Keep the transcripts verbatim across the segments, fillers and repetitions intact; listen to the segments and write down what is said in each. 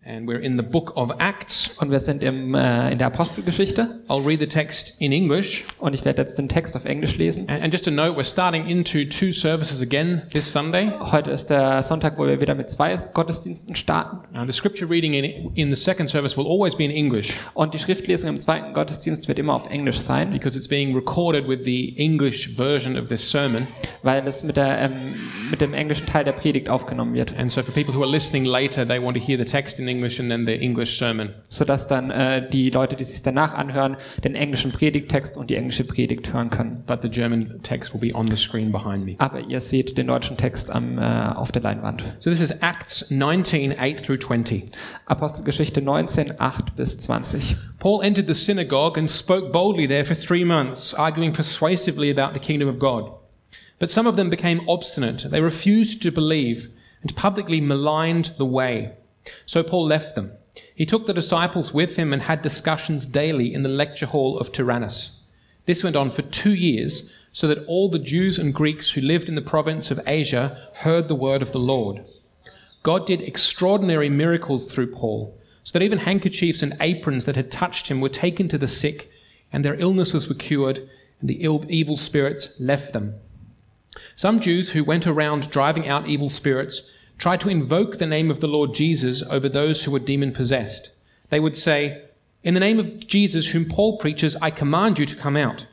And we're in the book of Acts. Und wir sind im, äh, in der Apostelgeschichte. I'll read the text in English. Und ich werde jetzt den Text auf Englisch lesen. And, and just a note, we're starting into two services again this Sunday. Heute ist der Sonntag, wo wir wieder mit zwei Gottesdiensten starten. Uh, the scripture reading in, in the second service will always be in English. Und die Schriftlesung im zweiten Gottesdienst wird immer auf Englisch sein. Because it's being recorded with the English version of this sermon. Weil es mit, der, ähm, mit dem englischen Teil der Predigt aufgenommen wird. And so for people who are listening later, they want to hear the text in English and then the English sermon. Sodass dann äh, die Leute, die sich danach anhören, den englischen Predigttext und die englische Predigt hören können. But the German text will be on the screen behind me. Aber ihr seht den deutschen Text am, äh, auf der Leinwand. So this is Acts nineteen, eight through twenty. Apostelgeschichte neunzehn, acht bis zwanzig. Paul entered the synagogue and spoke boldly there for three months, arguing persuasively about the kingdom of God. But some of them became obstinate. They refused to believe and publicly maligned the way. So Paul left them. He took the disciples with him and had discussions daily in the lecture hall of Tyrannus. This went on for two years, so that all the Jews and Greeks who lived in the province of Asia heard the word of the Lord. God did extraordinary miracles through Paul, so that even handkerchiefs and aprons that had touched him were taken to the sick, and their illnesses were cured, and the ill, evil spirits left them. Some Jews who went around driving out evil spirits tried to invoke the name of the Lord Jesus over those who were demon-possessed. They would say, "In the name of Jesus whom Paul preaches, I command you to come out."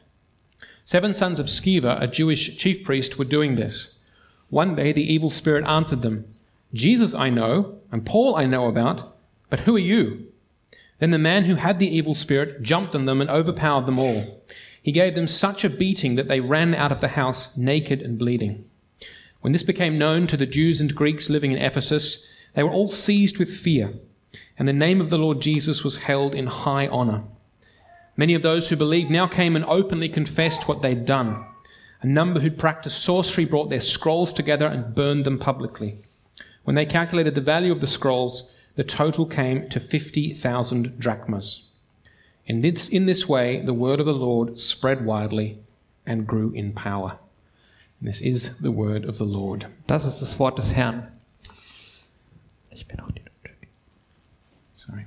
Seven sons of Sceva, a Jewish chief priest, were doing this. One day the evil spirit answered them, "Jesus I know, and Paul I know about, but who are you?" Then the man who had the evil spirit jumped on them and overpowered them all. He gave them such a beating that they ran out of the house naked and bleeding. When this became known to the Jews and Greeks living in Ephesus, they were all seized with fear, and the name of the Lord Jesus was held in high honor. Many of those who believed now came and openly confessed what they'd done. A number who'd practiced sorcery brought their scrolls together and burned them publicly. When they calculated the value of the scrolls, the total came to fifty thousand drachmas. In this, in this way, the word of the Lord spread widely and grew in power. This is the word of the Lord. Das ist das Wort des Herrn. Ich bin auch die Sorry.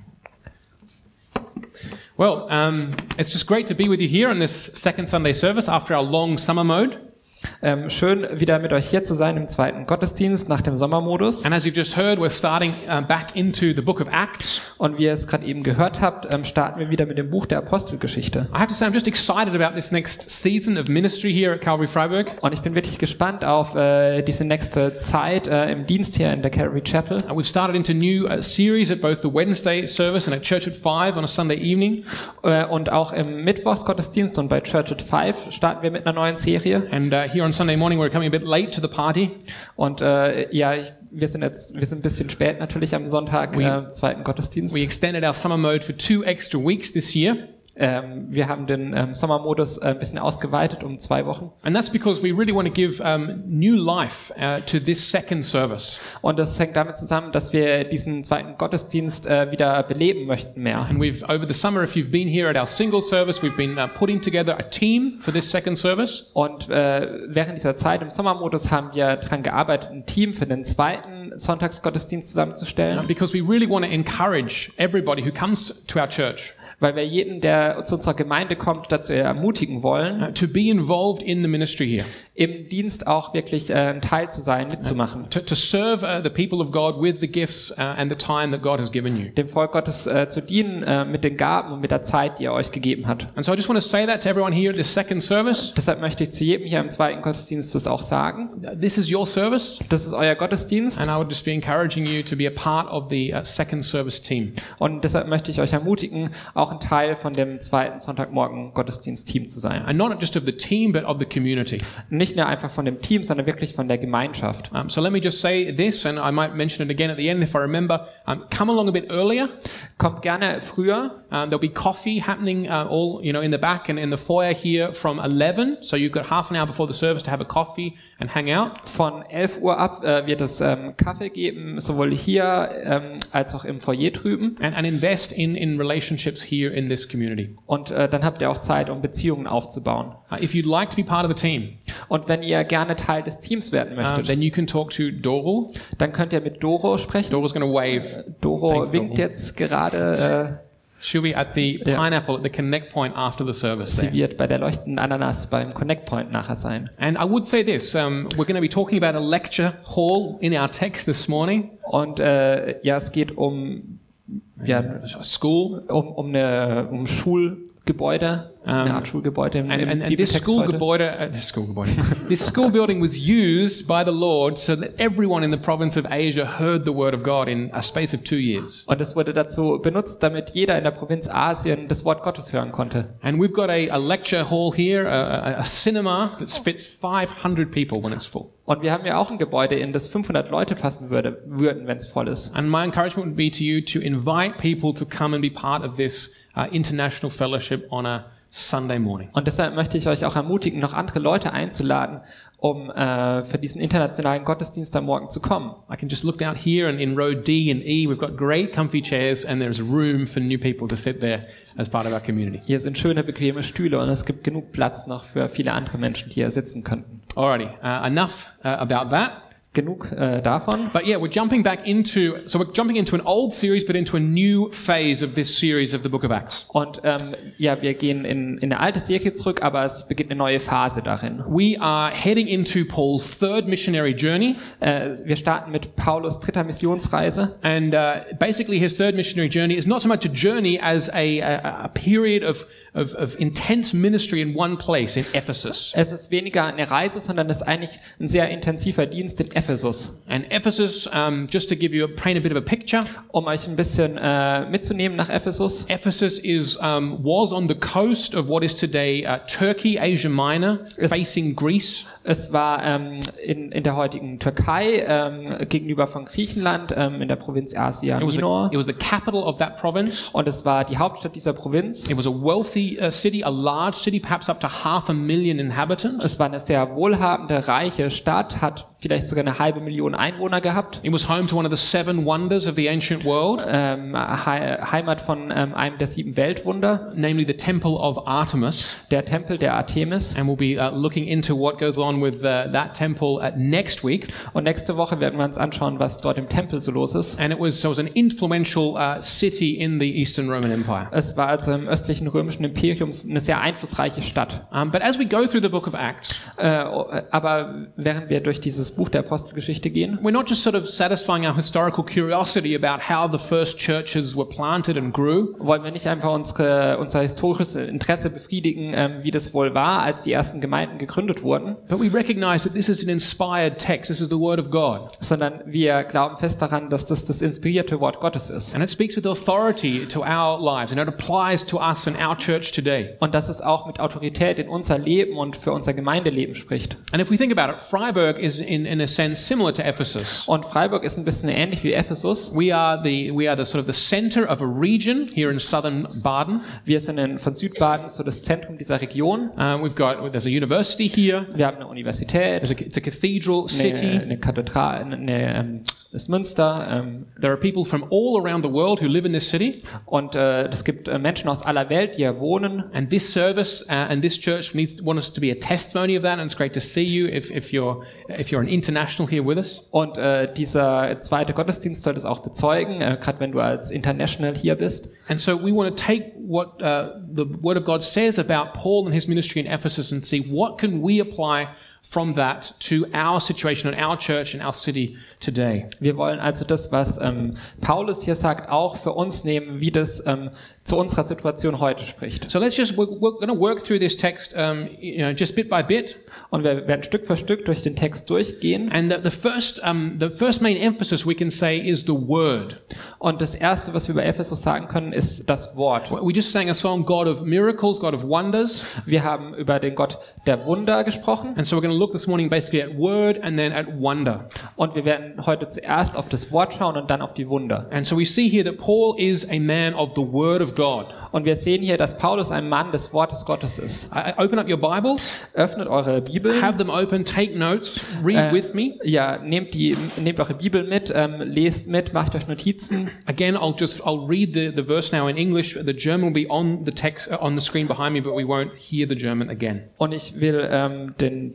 Well, um, it's just great to be with you here on this second Sunday service after our long summer mode. Ähm, schön, wieder mit euch hier zu sein im zweiten Gottesdienst nach dem Sommermodus. And as you've just heard, we're starting uh, back into the book of Acts. Und wie ihr es gerade eben gehört habt, ähm, starten wir wieder mit dem Buch der Apostelgeschichte. I have to say, I'm just excited about this next season of ministry here at Calvary Freiburg. Und ich bin wirklich gespannt auf äh, diese nächste Zeit äh, im Dienst hier in der Calvary Chapel. Uh, we've started into a new uh, series at both the Wednesday service and at Church at Five on a Sunday evening. Äh, und auch im Mittwochsgottesdienst und bei Church at Five starten wir mit einer neuen Serie. And uh, here on Sunday morning we're coming a bit late to the party. Und äh, ja, ich, wir sind jetzt wir sind ein bisschen spät natürlich am Sonntag We- äh, zweiten Gottesdienst. We extended our summer mode for two extra weeks this year. Ähm, wir haben den ähm, Sommermodus äh, ein bisschen ausgeweitet um zwei Wochen. And that's because we really want to give um, new life uh, to this second service. Und das hängt damit zusammen, dass wir diesen zweiten Gottesdienst äh, wieder beleben möchten mehr. And we've, over the summer, if you've been here at our single service, we've been uh, putting together a team for this second service. Und äh, während dieser Zeit im Sommermodus haben wir daran gearbeitet, ein Team für den zweiten Sonntagsgottesdienst zusammenzustellen. Uh, because we really want to encourage everybody who comes to our church Weil wir jeden, der zu unserer Gemeinde kommt, dazu ermutigen wollen, uh, to be involved in the ministry here. im Dienst auch wirklich äh, ein Teil zu sein, mitzumachen. To, to serve uh, the people of God with the gifts uh, and the time that God has given you. Dem Volk Gottes äh, zu dienen äh, mit den Gaben und mit der Zeit, die er euch gegeben hat. And so I just want to say that to everyone here at this second service. Deshalb möchte ich zu jedem hier im zweiten Gottesdienst das auch sagen. Uh, This is your service. Das ist euer Gottesdienst. And I would just be encouraging you to be a part of the uh, second service team. Und deshalb möchte ich euch ermutigen, auch ein Teil von dem zweiten Sonntagmorgen Gottesdienst-Team zu sein. And not just of the team, but of the community. Nicht nur einfach von dem Team, sondern wirklich von der Gemeinschaft. Um, so let me just say this, and I might mention it again at the end if I remember. Um, come along a bit earlier. Kommt gerne früher. Um, there'll be coffee happening uh, all, you know, in the back and in the foyer here from eleven. So you've got half an hour before the service to have a coffee and hang out. Von elf Uhr ab äh, wird es ähm, Kaffee geben, sowohl hier ähm, als auch im Foyer drüben. And, and invest in, in relationships here in this community. Und äh, dann habt ihr auch Zeit, um Beziehungen aufzubauen. Uh, if you'd like to be part of the team, Und wenn ihr gerne Teil des Teams werden uh, möchtet, then you can talk to Doro. dann könnt ihr mit Doro sprechen. Doro's going to wave. Doro Thanks, winkt Doro. jetzt gerade. She'll be at the Yeah. Pineapple at the Connect Point after the Äh, service sie there. wird bei der leuchtenden Ananas beim Connect Point nachher sein. And I would say this, um, we're going to be talking about a lecture hall in our text this morning. Und äh, ja, es geht um ja, A school. um, um eine um Schulgebäude, eine Art Schulgebäude im, And, im and, and this Bibeltext school heute. gebäude, uh, this school gebäude, this school building was used by the Lord so that everyone in the province of Asia heard the word of God in a space of two years. Und es wurde dazu benutzt, damit jeder in der Provinz Asien das Wort Gottes hören konnte. And we've got a, a lecture hall here, a, a, a cinema that fits five hundred people when it's full. Und wir haben ja auch ein Gebäude, in das fünfhundert Leute passen würde, würden, wenn es voll ist. And my encouragement would be to you to invite people to come and be part of this uh, international fellowship on a Sunday morning. Und deshalb möchte ich euch auch ermutigen, noch andere Leute einzuladen, um äh, für diesen internationalen Gottesdienst am Morgen zu kommen. I can just look out here and in row D and E, we've got great comfy chairs and there's room for new people to sit there as part of our community. Hier sind schöne, bequeme Stühle und es gibt genug Platz noch für viele andere Menschen, die hier sitzen könnten. Alrighty, uh, enough uh, about that. Genug äh, davon. But yeah, we're jumping back into, so we're jumping into an old series, but into a new phase of this series of the book of Acts. Und ähm, ja, wir gehen in, in eine alte Serie zurück, aber es beginnt eine neue Phase darin. We are heading into Paul's third missionary journey. Äh, wir starten mit Paulus' dritter Missionsreise. And uh, basically his third missionary journey is not so much a journey as a, a, a period of, of, of intense ministry in one place in Ephesus. Es ist weniger eine Reise, sondern es ist eigentlich ein sehr intensiver Dienst in Ephesus. And Ephesus, um, just to give you a, paint a bit of a picture, Um euch ein bisschen äh, mitzunehmen nach Ephesus. Ephesus is um, was on the coast of what is today uh, Turkey, Asia Minor, Yes. facing Greece. Es war ähm, in, in der heutigen Türkei, ähm, gegenüber von Griechenland, ähm, in der Provinz Asia It was, the, Minor. it was the capital of that province. Und es war die Hauptstadt dieser Provinz. It was a wealthy uh, city, a large city, perhaps up to half a million inhabitants. Es war eine sehr wohlhabende, reiche Stadt, hat vielleicht sogar eine halbe Million Einwohner gehabt. It was home to one of the seven wonders of the ancient world, Ähm, He Heimat von ähm, einem der sieben Weltwunder, namely the Temple of Artemis. der Tempel der Artemis. And we'll be uh, looking into what goes on with uh, that temple uh, next week. Und nächste Woche werden wir uns anschauen, was dort im Tempel so los ist. And it was, so it was an influential uh, city in the Eastern Roman Empire. Es war also im östlichen römischen Imperium eine sehr einflussreiche Stadt. Um, but as we go through the book of Acts, Äh, aber während wir durch dieses Buch der Apostelgeschichte gehen, we're not just sort of satisfying our historical curiosity about how the first churches were planted and grew, wollen wir nicht einfach unsere, unser historisches Interesse befriedigen, ähm, wie das wohl war, als die ersten Gemeinden gegründet wurden, but we recognize that this is an inspired text. This is the word of God. sondern wir glauben fest daran, dass das das inspirierte Wort Gottes ist. And it speaks with authority to our lives, and it applies to us and our church today. Und dass es auch mit Autorität in unser Leben und für unser Gemeindeleben spricht. And if we think about it, Freiburg is in, in a sense similar to Ephesus. Und Freiburg ist ein bisschen ähnlich wie Ephesus. We are the we are the sort of the center of a region here in southern Baden. Wir sind in, von Südbaden so das Zentrum dieser Region. Uh, we've got there's a university here. Wir haben eine Universität, There's a, it's a cathedral eine, city. eine Kathedrale, eine, eine, ähm, das Münster. Ähm, There are people from all around the world who live in this city. und äh, es gibt äh, Menschen aus aller Welt, die hier wohnen. And this service uh, and this church needs want us to be a testimony of that. And it's great to see you if, if you're if you're an international here with us. Und äh, dieser zweite Gottesdienst soll das auch bezeugen, äh, gerade wenn du als International hier bist. And so we want to take what uh, the Word of God says about Paul and his ministry in Ephesus and see what can we apply from that to our situation and our church and our city today. Wir wollen also das, was ähm, Paulus hier sagt, auch für uns nehmen, wie das ähm, zu unserer Situation heute spricht. So let's just we're, we're going to work through this text, um, you know, just bit by bit. Und wir werden Stück für Stück durch den Text durchgehen. And the, the first um, the first main emphasis we can say is the Word. Und das Erste, was wir über Ephesus sagen können, ist das Wort. We just sang a song, God of Miracles, God of Wonders. Wir haben über den Gott der Wunder gesprochen. And so we're going to look this morning basically at Word and then at wonder. Und wir werden heute zuerst auf das Wort schauen und dann auf die Wunder. And so we see here that Paul is a man of the Word of God. Und wir sehen hier, dass Paulus ein Mann des Wortes Gottes ist. I, I open up your Bibles, Öffnet eure Bibel. have them open, take notes, read Äh, with me. Ja, nehmt die, nehmt eure Bibel mit, ähm, lest mit, macht euch Notizen. Again, I'll just I'll read the, the verse now in English. The German will be on the text uh, on the screen behind me, but we won't hear the German again. Und ich will ähm, den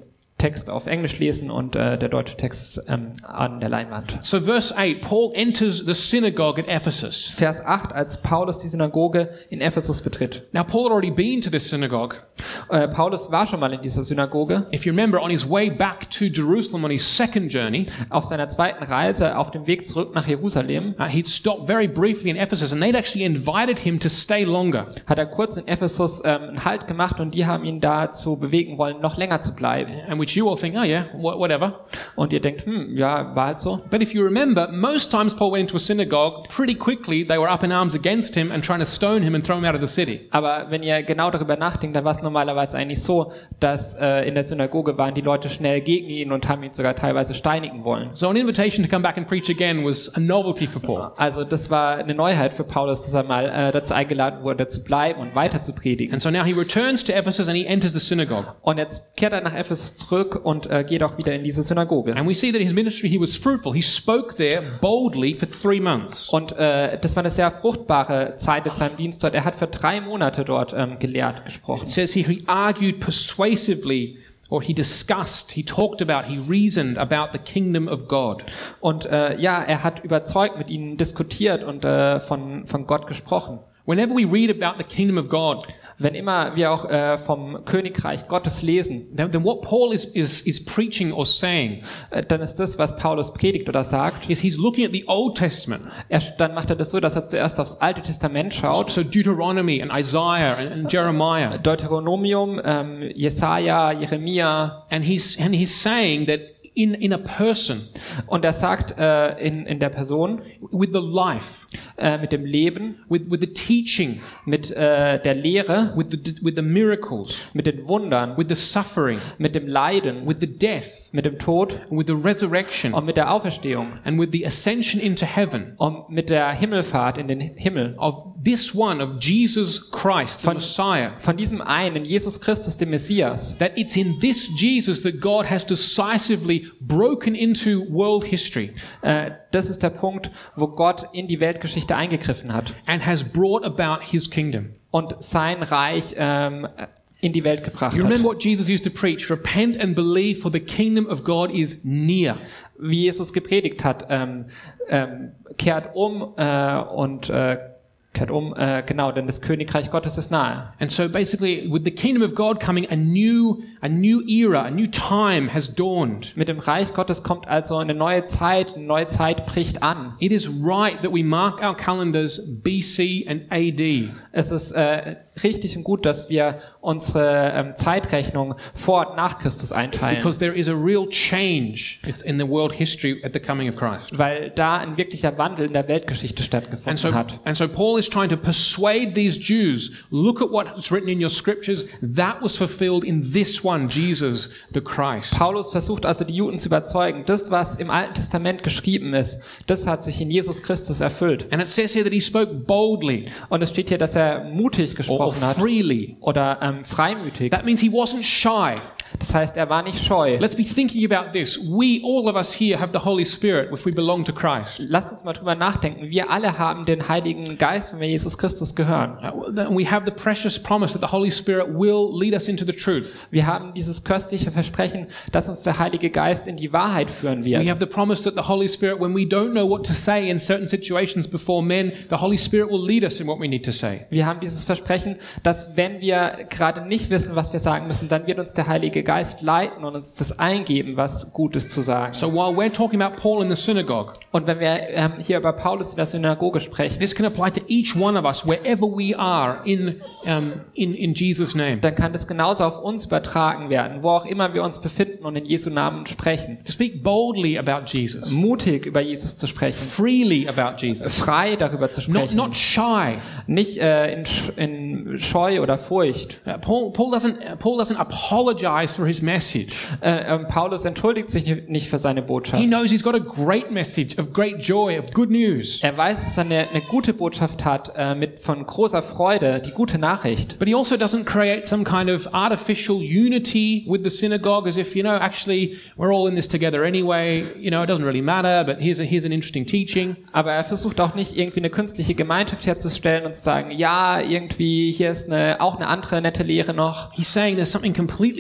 Text auf Englisch lesen und äh, der deutsche Text ähm, an der Leinwand. So verse eight, Paul enters the synagogue at Ephesus. Vers acht, als Paulus die Synagoge in Ephesus betritt. Now Paul had already been to this synagogue. Äh, Paulus war schon mal in dieser Synagoge. If you remember, on his way back to Jerusalem on his second journey, Auf seiner zweiten Reise auf dem Weg zurück nach Jerusalem uh, he'd stopped very briefly in Ephesus, and they'd actually invited him to stay longer. hat er kurz in Ephesus ähm, einen Halt gemacht und die haben ihn dazu bewegen wollen, noch länger zu bleiben. And which you all think, oh yeah, wh- whatever. Und ihr denkt, hm, ja, war halt so. But if you remember, most times Paul went into a synagogue, pretty quickly they were up in arms against him and trying to stone him and throw him out of the city. Aber wenn ihr genau darüber nachdenkt, dann war es normalerweise eigentlich so, dass äh, in der Synagoge waren die Leute schnell gegen ihn und haben ihn sogar teilweise steinigen wollen. So an invitation to come back and preach again was a novelty for Paul. Also das war eine Neuheit für Paulus, dass er mal äh, dazu eingeladen wurde, zu bleiben und weiter zu predigen. And so now he returns to Ephesus and he enters the synagogue. Und jetzt kehrt er nach Ephesus zurück und äh, geht auch wieder in diese Synagoge. And we see that his ministry, he was fruitful. He spoke there boldly for three months. Und äh, das war eine sehr fruchtbare Zeit in seinem Dienst dort. Er hat für drei Monate dort ähm, gelehrt, gesprochen. It says here he argued persuasively, or he discussed, he talked about, he reasoned about the kingdom of God. Und äh, ja, er hat überzeugt, mit ihnen diskutiert und äh, von, von Gott gesprochen. Whenever we read about the kingdom of God, Wenn immer wir auch äh, vom Königreich Gottes lesen, then, then what Paul is, is, is preaching or saying äh, dann ist das, was Paulus predigt oder sagt, is he's looking at the Old Testament. er, dann macht er das so, dass er zuerst aufs Alte Testament schaut, So Deuteronomy and Isaiah and, and Jeremiah. Deuteronomium, ähm, Jesaja, Jeremia, And he's, and he's saying that in, in a person, und er sagt äh, in, in der Person, with the life, äh, mit dem Leben, with, with the teaching, mit äh, der Lehre, with the, with the miracles, mit den Wundern, with the suffering, mit dem Leiden, with the death, mit dem Tod with the resurrection, und mit der Auferstehung and with the ascension into heaven und mit der Himmelfahrt in den Himmel. of this one, of Jesus Christ, the Messiah, Von diesem einen, Jesus Christus, dem Messias, that it's in this Jesus that God has decisively broken into world history äh, das ist der Punkt, wo Gott in die Weltgeschichte eingegriffen hat and has brought about his kingdom. und sein Reich ähm, in die Welt gebracht You remember hat. what Jesus used to preach? Repent and believe, for the kingdom of God is near. Wie Jesus gepredigt hat, ähm, ähm, kehrt um äh, und äh, kehrt um, äh, genau, denn das Königreich Gottes ist nahe. And so basically, with the kingdom of God coming, a new, a new era, a new time has dawned. Mit dem Reich Gottes kommt also eine neue Zeit, eine neue Zeit bricht an. It is right that we mark our calendars B C and A D. Es ist äh, richtig und gut, dass wir unsere ähm, Zeitrechnung vor und nach Christus einteilen, Because there is a real change in the world history at the coming of Christ. weil da ein wirklicher Wandel in der Weltgeschichte And stattgefunden so, hat. and so Paul is trying to persuade these Jews, look at what's written in your scriptures, that was fulfilled in this one, Jesus the Christ. Paulus versucht also die Juden zu überzeugen, das, was im Alten Testament geschrieben ist, das hat sich in Jesus Christus erfüllt. And it says here that he spoke boldly Und es steht hier, dass er mutig or, or gesprochen hat freely. oder ähm, freimütig. That means he wasn't shy. Das heißt, er war nicht scheu. Let's be thinking about this. We, all of us here, have the Holy Spirit if we belong to Christ. Lasst uns mal drüber nachdenken. Wir alle haben den Heiligen Geist, wenn wir Jesus Christus gehören. Uh, We have the precious promise that the Holy Spirit will lead us into the truth. Wir haben dieses köstliche Versprechen, dass uns der Heilige Geist in die Wahrheit führen We wird. have the promise that the Holy Spirit, when we don't know what to say in certain situations before men, the Holy Spirit will lead us in what we need to say. Wir haben dieses Versprechen, dass wenn wir gerade nicht wissen, was wir sagen müssen, dann wird uns der Heilige Geist leiten und uns das eingeben, was Gutes zu sagen. So while we're talking about Paul in the synagogue, Und wenn wir ähm, hier über Paulus in der Synagoge sprechen, this can apply to each one of us, wherever we are in, um, in, in Jesus' name. dann kann das genauso auf uns übertragen werden, wo auch immer wir uns befinden und in Jesu Namen sprechen. To speak boldly about Jesus, Mutig über Jesus zu sprechen, freely about Jesus, frei darüber zu not, sprechen, not shy. nicht äh, in, Sch- in Scheu oder Furcht. Uh, Paul, Paul, doesn't, uh, Paul doesn't apologize for his message. Äh, ähm, Paulus entschuldigt sich nicht für seine Botschaft. He knows he's got a great message of great joy, of good news. Er weiß, dass er eine, eine gute Botschaft hat, äh, mit von großer Freude, die gute Nachricht. But he also doesn't create some kind of artificial unity with the synagogue as if, you know, actually we're all in this together anyway. You know, it doesn't really matter, but here's, a, here's an interesting teaching. Aber er versucht auch nicht irgendwie eine künstliche Gemeinschaft herzustellen und zu sagen, ja, irgendwie hier ist eine, auch eine andere nette Lehre noch. He's saying there's something completely different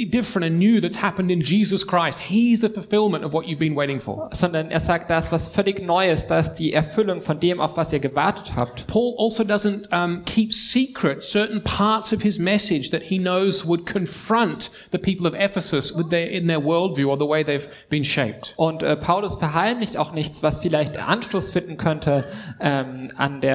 different and new that's happened in Jesus Christ. He's the fulfillment of what you've been waiting for. Sondern er sagt, da ist was völlig Neues, da ist die Erfüllung von dem, auf was ihr gewartet habt. Paul also doesn't um, keep secret certain parts of his message that he knows would confront the people of Ephesus with their, in their worldview or the way they've been shaped. Und äh, Paulus verheimlicht auch nichts, was vielleicht Anstoß finden könnte ähm, an der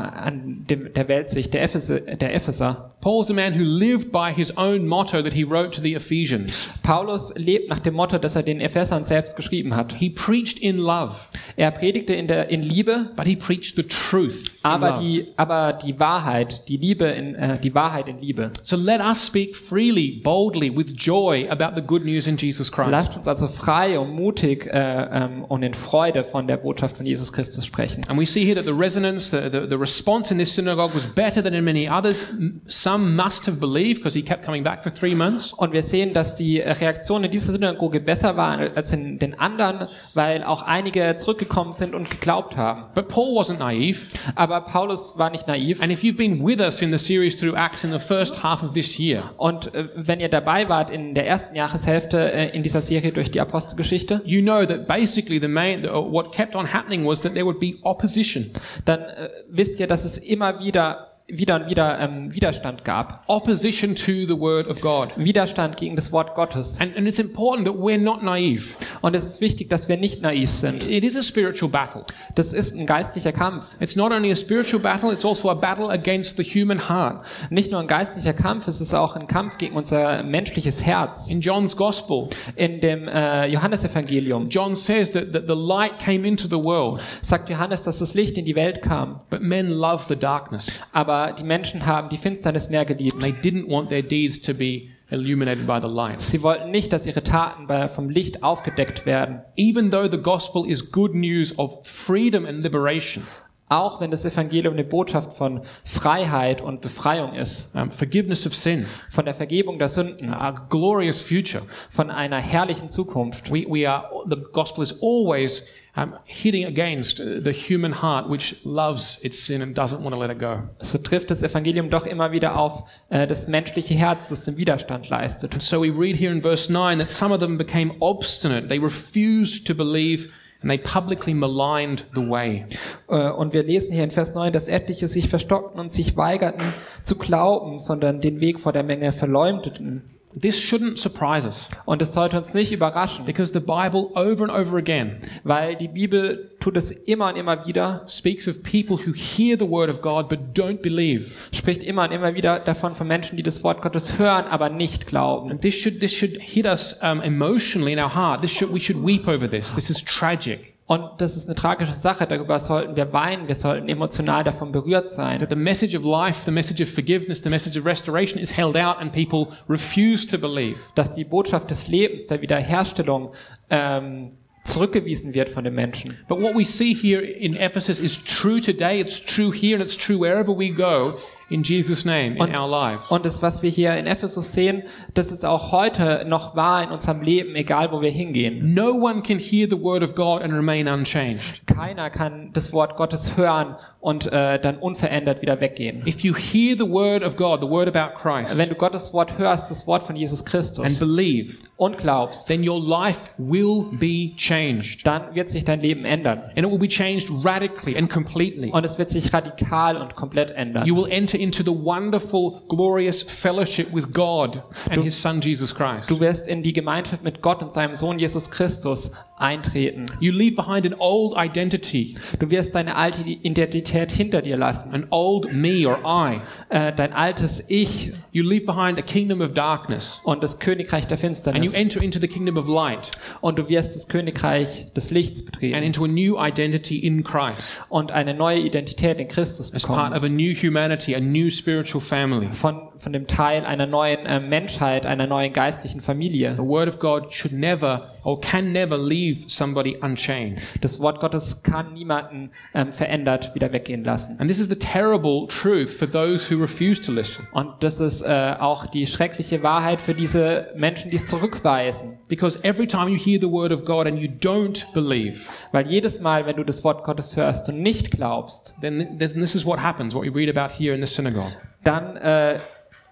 an dem, der Weltsicht der, Ephes- der Epheser. Paul's a man who lived by his own motto that he wrote to the Ephesians. Paulus lebt nach dem Motto, das er den Ephesern selbst geschrieben hat. He preached in love, Er predigte in der in Liebe, but he preached the truth in aber love. die aber die Wahrheit, die Liebe in äh, die Wahrheit in Liebe. So let us speak freely, boldly, with joy about the good news in Jesus Christ. Lasst uns also frei und mutig äh, ähm, und in Freude von der Botschaft von Jesus Christus sprechen. And we see here that the resonance, the, the, the response in this synagogue was better than in many others. Some must have believed because he kept coming back for three months. Und wir sehen, dass die Reaktion in dieser Synagoge besser war als in den anderen, weil auch einige zurückgekommen sind und geglaubt haben. But Paul wasn't naive. Aber Paulus war nicht naiv. And if you've been with us in the series through Acts in the first half of this year, Und äh, wenn ihr dabei wart in der ersten Jahreshälfte äh, in dieser Serie durch die Apostelgeschichte, you know that basically the main, uh, what kept on happening was that there would be opposition. dann äh, wisst ihr, dass es immer wieder wieder und wieder ähm, Widerstand gab. Opposition to the word of God. Widerstand gegen das Wort Gottes. And, and it's important that we're not naive. Und es ist wichtig, dass wir nicht naiv sind. It is a spiritual battle. Das ist ein geistlicher Kampf. It's not only a spiritual battle, it's also a battle against the human heart. Nicht nur ein geistlicher Kampf, es ist auch ein Kampf gegen unser menschliches Herz. In John's Gospel, In dem äh, Johannesevangelium John says that, that the light came into the world, sagt Johannes, dass das Licht in die Welt kam. but men love the darkness. Aber die Menschen haben die Finsternis mehr geliebt. And they didn't want their deeds to be illuminated by the light. Sie wollten nicht, dass ihre Taten bei, vom Licht aufgedeckt werden. Even though the gospel is good news of freedom and liberation, Auch wenn das Evangelium eine Botschaft von Freiheit und Befreiung ist. um, forgiveness of sin, Von der Vergebung der Sünden. a glorious future. Von einer herrlichen Zukunft. We, we are, the gospel is always um, hitting against uh, the human heart which loves its sin and doesn't want to let it go. So trifft das Evangelium doch immer wieder auf äh, das menschliche Herz, das den Widerstand leistet. And so we read here in verse nine that some of them became obstinate. They refused to believe and they publicly maligned the way. Äh, Und wir lesen hier in Vers neun, dass etliche sich verstockten und sich weigerten zu glauben, sondern den Weg vor der Menge verleumdeten. This shouldn't surprise us Und es sollte uns nicht überraschen, because the Bible over and over again weil die Bibel tut es immer und immer wieder, speaks of people who hear the word of God but don't believe. spricht immer und immer wieder davon von Menschen, die das Wort Gottes hören, aber nicht glauben. And this should, this should hit us um, emotionally in our heart. This should, we should weep over this. This is tragic. Und das ist eine tragische Sache, darüber sollten wir weinen, wir sollten emotional davon berührt sein. That the message of life, the message of forgiveness, the message of restoration is held out and people refuse to believe. Dass die Botschaft des Lebens, der Wiederherstellung ähm, zurückgewiesen wird von den Menschen. But what we see here in Ephesus is true today, it's true here, and it's true wherever we go in Jesus' name in Und, our lives. und das, was wir hier in Ephesus sehen, das ist auch heute noch wahr in unserem Leben, egal wo wir hingehen. No one can hear the word of God and remain unchanged. Keiner kann das Wort Gottes hören und äh, dann unverändert wieder weggehen. If you hear the word of God, the word about Christ, Wenn du Gottes Wort hörst, das Wort von Jesus and Christus, believe, und glaubst, then your life will be changed. dann wird sich dein Leben ändern. And it will be changed radically and completely. Und es wird sich radikal und komplett ändern. You will enter into the wonderful, glorious fellowship with God and His Son Jesus Christ. Du wirst in die Gemeinschaft mit Gott und seinem Sohn Jesus Christus eintreten. You leave behind an old identity, Du wirst deine alte Identität hinter dir lassen. an old me or I. Äh, dein altes Ich You leave behind a kingdom of darkness und das Königreich der and you Finsternis. enter into the kingdom of light Und du wirst das Königreich des Lichts and betreten into a new identity in Christ und eine neue Identität in Christus as part bekommen. of a new humanity, a new spiritual family. Von, von dem Teil einer neuen äh, Menschheit, einer neuen geistlichen Familie. The word of God should never or can never leave somebody unchanged. Das Wort Gottes kann niemanden ähm, verändert wieder weggehen lassen. And this is the terrible truth for those who refuse to listen. Und das ist äh, auch die schreckliche Wahrheit für diese Menschen, die es zurückweisen. Because every time you hear the word of God and you don't believe, Weil jedes Mal, wenn du das Wort Gottes hörst und nicht glaubst, then then this is what happens, what we read about here in the synagogue. dann äh,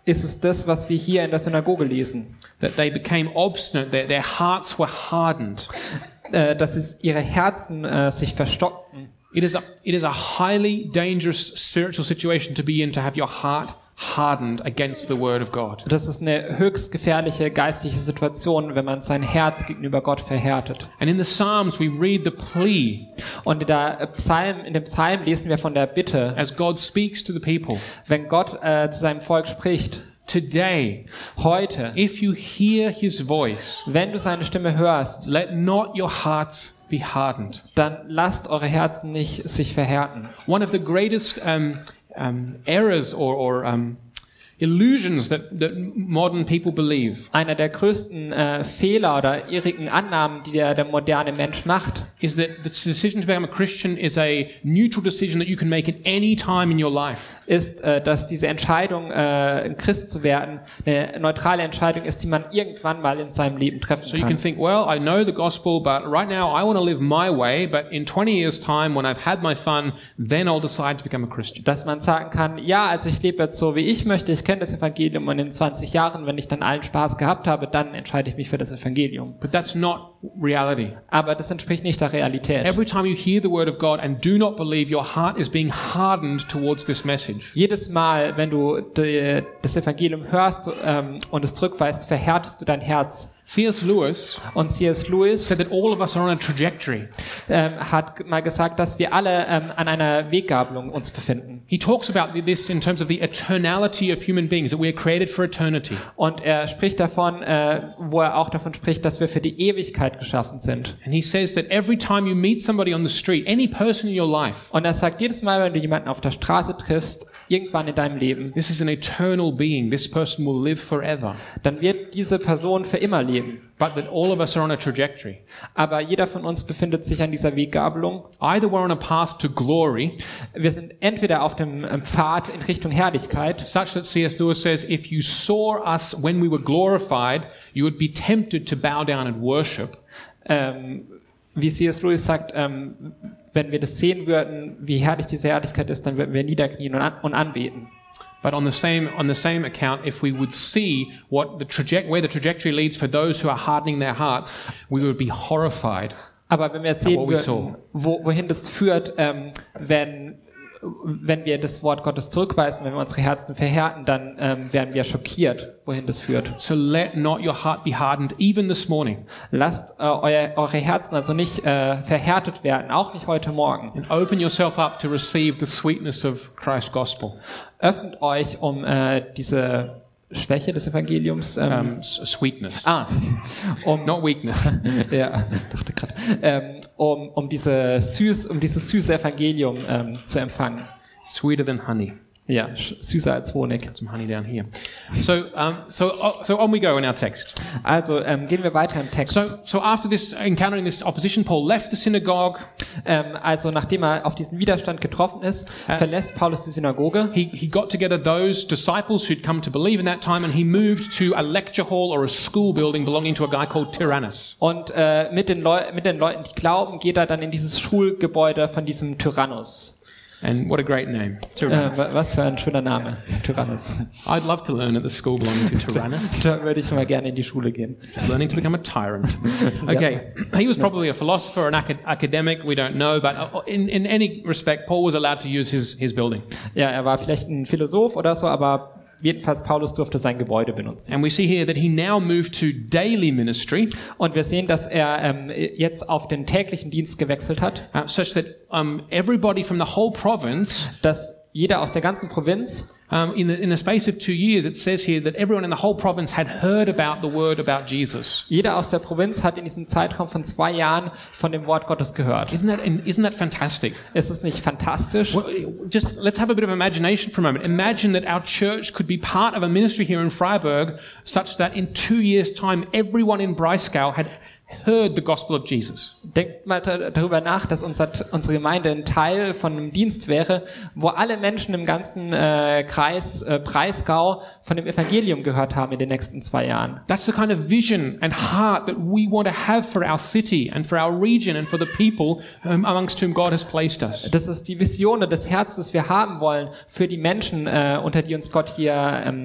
ist es das, was wir hier in der Synagoge lesen. That they became obstinate, their, their hearts were hardened. Äh, dass es ihre Herzen äh, sich verstockten. It is, a, it is a highly dangerous spiritual situation to be in, to have your heart hardened against the word of God. Das ist eine höchst gefährliche geistliche Situation, wenn man sein Herz gegenüber Gott verhärtet. And in the Psalms we read the plea Und in, der Psalm, in dem Psalm lesen wir von der Bitte, as God speaks to the people. wenn Gott äh, zu seinem Volk spricht. Today, Heute, if you hear his voice, wenn du seine Stimme hörst, let not your hearts be hardened. dann lasst eure Herzen nicht sich verhärten. One of the greatest um, um, errors or, or um, illusions that, that modern people believe Einer der größten äh, Fehler oder irrigen Annahmen, die der, der moderne Mensch macht, is that the decision to become a Christian is a neutral decision that you can make at any time in your life. ist, äh, dass diese Entscheidung, äh, ein Christ zu werden, eine neutrale Entscheidung ist, die man irgendwann mal in seinem Leben treffen So you can kann. think, well, I know the gospel, but right now I want to live my way, but in twenty years' time, when I've had my fun, then I'll decide to become a Christian. Dass man sagen kann, ja, also ich lebe jetzt so, wie ich möchte, ich kenne das Evangelium und in zwanzig Jahren, wenn ich dann allen Spaß gehabt habe, dann entscheide ich mich für das Evangelium. But that's not reality. Aber das entspricht nicht der Realität. Every time you hear the word of God and do not believe, your heart is being hardened towards this message. Jedes Mal, wenn du die, das Evangelium hörst ähm, und es zurückweist, verhärtest du dein Herz. C S Lewis Und C S Lewis said that all of us are on a trajectory. ähm, hat mal gesagt, dass wir alle ähm, an einer Weggabelung uns befinden. He talks about this in terms of the eternality of human beings, that we are created for eternity. Und er spricht davon, äh, wo er auch davon spricht, dass wir für die Ewigkeit geschaffen sind. And he says that every time you meet somebody on the street, any person in your life, Und er sagt, jedes Mal, wenn du jemanden auf der Straße triffst, irgendwann in deinem Leben, this is an eternal being. This person will live forever. dann wird diese Person für immer leben. But that all of us are on a trajectory. Aber jeder von uns befindet sich an dieser Weggabelung. Either we're on a path to glory, Wir sind entweder auf dem ähm, Pfad in Richtung Herrlichkeit, such that C S Lewis says, if you saw us when we were glorified, you would be tempted to bow down and worship. ähm, wie C S Lewis sagt, ähm, wenn wir das sehen würden, wie herrlich diese Herrlichkeit ist, dann würden wir niederknien und, an und anbeten. But on the same on the same account, if we would see what the traje- where the trajectory leads for those who are hardening their hearts, we would be horrified. Aber wenn wir sehen what we saw. würden, wo, wohin das führt, ähm, wenn, wenn wir das Wort Gottes zurückweisen, wenn wir unsere Herzen verhärten, dann ähm, werden wir schockiert, wohin das führt. So let not your heart be hardened, even this morning. Lasst äh, euer, eure Herzen also nicht äh, verhärtet werden, auch nicht heute Morgen. And open yourself up to receive the sweetness of Christ's gospel. Öffnet euch, um äh, diese Schwäche des Evangeliums, ähm, Um, s- sweetness, ah, um, not weakness. ja, dachte gerade, ähm, um, um diese süß, um dieses süße Evangelium ähm, zu empfangen. Sweeter than honey. Ja, sch- süßer als Honig. Some honey down here. So, um, so, uh, so on we go in our text. Also ähm, gehen wir weiter im Text. So, so after this encountering this opposition, Paul left the synagogue. Ähm, also nachdem er auf diesen Widerstand getroffen ist, verlässt Paulus die Synagoge. He, he got together those disciples who'd come to believe in that time, and he moved to a lecture hall or a school building belonging to a guy called Tyrannus. Und äh, mit, den Leu mit den Leuten, die glauben, geht er dann in dieses Schulgebäude von diesem Tyrannus. And what a great name, Äh, Tyrannus. wa- was für ein schöner Name, Tyrannus. I'd love to learn at the school belonging to Tyrannus. Da würde ich mal gerne in die Schule gehen. Just learning to become a tyrant. Okay, he was probably a philosopher, an acad- academic, we don't know, but in, in any respect, Paul was allowed to use his, his building. Ja, er war vielleicht ein Philosoph oder so, aber jedenfalls Paulus durfte sein Gebäude benutzen. And we see here that he now moved to daily ministry, Und wir sehen, dass er ähm, jetzt auf den täglichen Dienst gewechselt hat, uh, such that um, everybody from the whole province, dass jeder aus der ganzen Provinz, um, in, the, in the space of two years, it says here that everyone in the whole province had heard about the word about Jesus. jeder aus der Provinz hat in diesem Zeitraum von zwei Jahren von dem Wort Gottes gehört. Isn't that, isn't that fantastic? Ist es nicht fantastisch? Well, just let's have a bit of imagination for a moment. Imagine that our church could be part of a ministry here in Freiburg such that in two years' time, everyone in Breisgau had heard the gospel of Jesus. Denkt mal da- darüber nach, dass unser, unsere Gemeinde ein Teil von einem Dienst wäre, wo alle Menschen im ganzen äh, Kreis äh, Breisgau von dem Evangelium gehört haben in den nächsten zwei Jahren. That's the kind of vision and heart that we want to have for our city and for our region and for the people um, amongst whom God has placed us. Das ist die Vision und das Herz, das wir haben wollen für die Menschen, äh, unter die uns Gott hier ähm,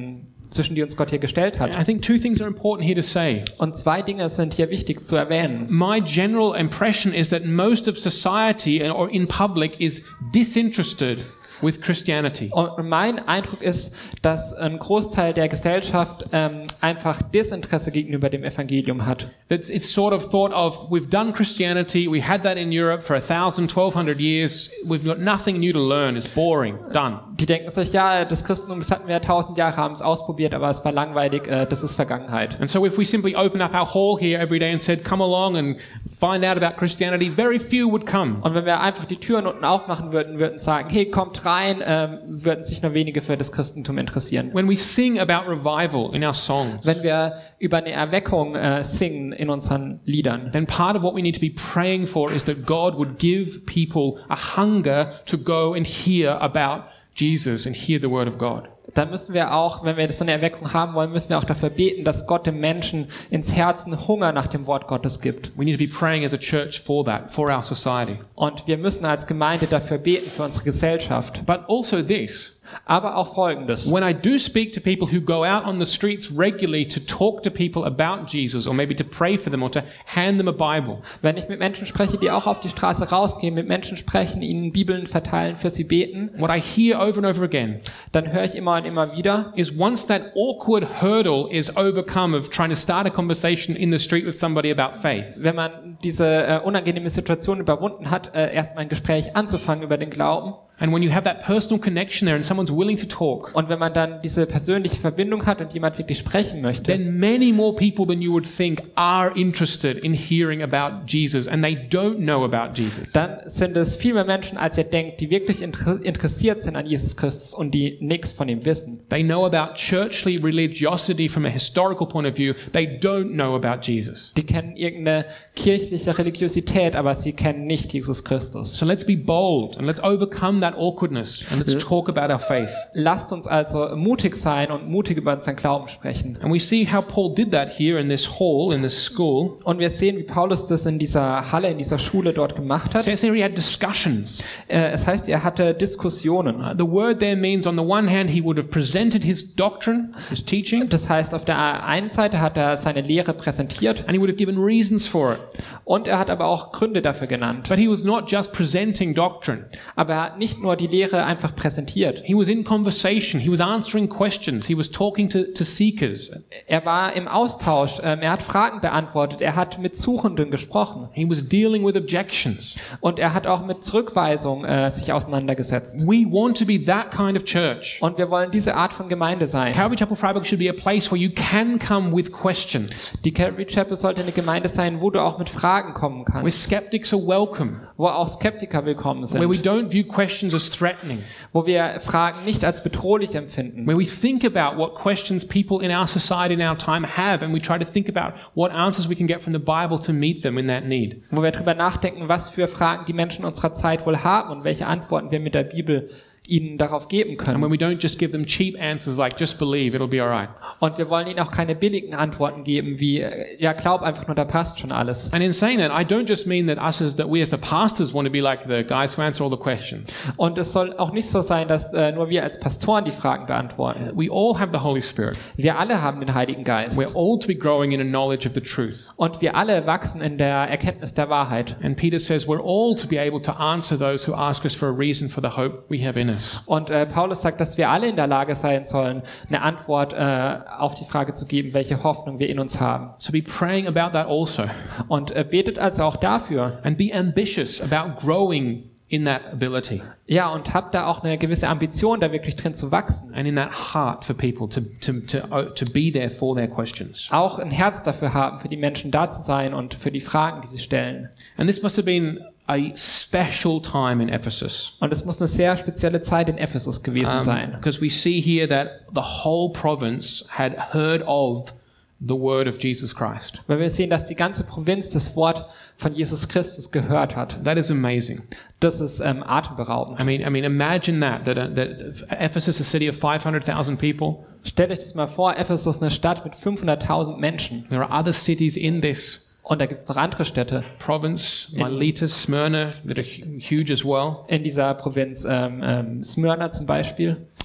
zwischen die uns Gott hier gestellt hat. I think two things are important here to say. Und zwei Dinge sind hier wichtig zu erwähnen. My general impression is that most of society or in public is disinterested with Christianity. Und mein Eindruck ist, dass ein Großteil der Gesellschaft ähm, einfach Desinteresse gegenüber dem Evangelium hat. It's, it's sort of thought of, we've done Christianity, we had that in Europe for a thousand, twelve hundred years, we've got nothing new to learn, it's boring, done. Die denken sich, ja, das Christentum, das hatten wir tausend Jahre, haben es ausprobiert, aber es war langweilig, äh, das ist Vergangenheit. And so if we simply open up our hall here every day and said, come along and find out about Christianity, very few would come. Und wenn wir einfach die Türen unten aufmachen würden, würden sagen, hey, kommt rein, ähm, würden sich nur wenige für das Christentum interessieren. When we sing about revival in our songs, Wenn wir über eine Erweckung äh, singen in unseren Liedern, then part of what we need to be praying for is that God would give people a hunger to go and hear about Jesus and hear the word of God. dann müssen wir auch, wenn wir so eine Erweckung haben wollen, müssen wir auch dafür beten, dass Gott dem Menschen ins Herzen Hunger nach dem Wort Gottes gibt. We need to be praying as a church for that, for our society. Und wir müssen als Gemeinde dafür beten, für unsere Gesellschaft. But also this. Aber auch Folgendes. When I do speak to people who go out on the streets regularly to talk to people about Jesus or maybe to pray for them or to hand them a Bible, Wenn ich mit Menschen spreche, die auch auf die Straße rausgehen, mit Menschen sprechen, ihnen Bibeln verteilen, für sie beten, what I hear over and over again dann höre ich immer und immer wieder, is once that awkward hurdle is overcome of trying to start a conversation in the street with somebody about faith, wenn man diese äh, unangenehme Situation überwunden hat, äh, erstmal ein Gespräch anzufangen über den Glauben. and when you have that personal connection there and someone's willing to talk, Und wenn man dann diese persönliche Verbindung hat und jemand wirklich sprechen möchte, then many more people than you would think are interested in hearing about Jesus, and they don't know about Jesus. dann sind es viel mehr Menschen, als ihr denkt, die wirklich inter- interessiert sind an Jesus Christus und die nichts von ihm wissen. They know about churchly religiosity from a historical point of view. They don't know about Jesus. Die kennen irgendeine kirchliche Religiosität, aber sie kennen nicht Jesus Christus. So let's be bold and let's overcome that awkwardness and let's talk about our faith. Lasst uns also mutig sein und mutig über unseren Glauben sprechen. And we see how Paul did that here in this hall, in this school. Und wir sehen, wie Paulus das in dieser Halle, in dieser Schule dort gemacht It hat. says here he had discussions. Äh, Es heißt, er hatte Diskussionen. Uh, the word there means on the one hand he would have presented his doctrine, his teaching, Das heißt, auf der einen Seite hat er seine Lehre präsentiert and he would have given reasons for it. und er hat aber auch Gründe dafür genannt. But he was not just presenting doctrine. Aber er hat nicht nur die Lehre einfach präsentiert. He was in conversation. He was answering questions. He was talking to, to seekers. Er war im Austausch, ähm, er hat Fragen beantwortet, er hat mit Suchenden gesprochen He was dealing with objections. und er hat auch mit Zurückweisung äh, sich auseinandergesetzt. We want to be that kind of church. Und wir wollen diese Art von Gemeinde sein. Calvary Chapel Freiburg should be a place where you can come with questions, Die Calvary Chapel sollte eine Gemeinde sein, wo du auch mit Fragen kommen where kannst, skeptics are welcome, wo auch Skeptiker willkommen where we sind, don't view questions as threatening, wo wir Fragen nicht als bedrohlich empfinden, where we think about what questions people in our society in our time have, and we try to think about what answers we can get from the Bible to meet them in that need. wo wir darüber nachdenken, was für Fragen die Menschen unserer Zeit wohl haben und welche Antworten wir mit der Bibel ihnen darauf geben And können. when we don't just give them cheap answers like, just believe, it'll be all right. Und wir wollen ihnen auch keine billigen Antworten geben, wie, äh, ja, glaub einfach nur, da passt schon alles. And in saying that, I don't just mean that us as, that we as the pastors want to be like the guys who answer all the questions. Und es soll auch nicht so sein, dass äh, nur wir als Pastoren die Fragen beantworten. We all have the Holy Spirit. Wir alle haben den Heiligen Geist. We're all to be growing in a knowledge of the truth. Und wir alle wachsen in der Erkenntnis der Wahrheit. And Peter says we're all to be able to answer those who ask us for a reason for the hope we have in us. Und äh, Paulus sagt, dass wir alle in der Lage sein sollen, eine Antwort äh, auf die Frage zu geben, welche Hoffnung wir in uns haben. So be praying about that also. Und äh, betet also auch dafür. And be ambitious about growing in that ability Ja, und habt da auch eine gewisse Ambition, da wirklich drin zu wachsen. and in that heart for people to, to, to, to be there for their questions. Auch ein Herz dafür haben, für die Menschen da zu sein und für die Fragen, die sie stellen. And this must have been a special time in Ephesus. Und es muss eine sehr spezielle Zeit in Ephesus gewesen sein. Because we see here that the whole province had heard of the word of Jesus Christ. Weil wir sehen, dass die ganze Provinz das Wort von Jesus Christus gehört hat. That is amazing. Das ist ähm, atemberaubend. I mean, I mean, imagine that, that, uh, that Ephesus, a city of five hundred thousand people, Stellt euch das mal vor, Ephesus, eine Stadt mit fünfhunderttausend Menschen. there are other cities in this Und da gibt es noch andere Städte province, Miletus, Smyrna, that are hu- huge as well. in dieser Provinz, ähm, ähm, Smyrna zum Beispiel.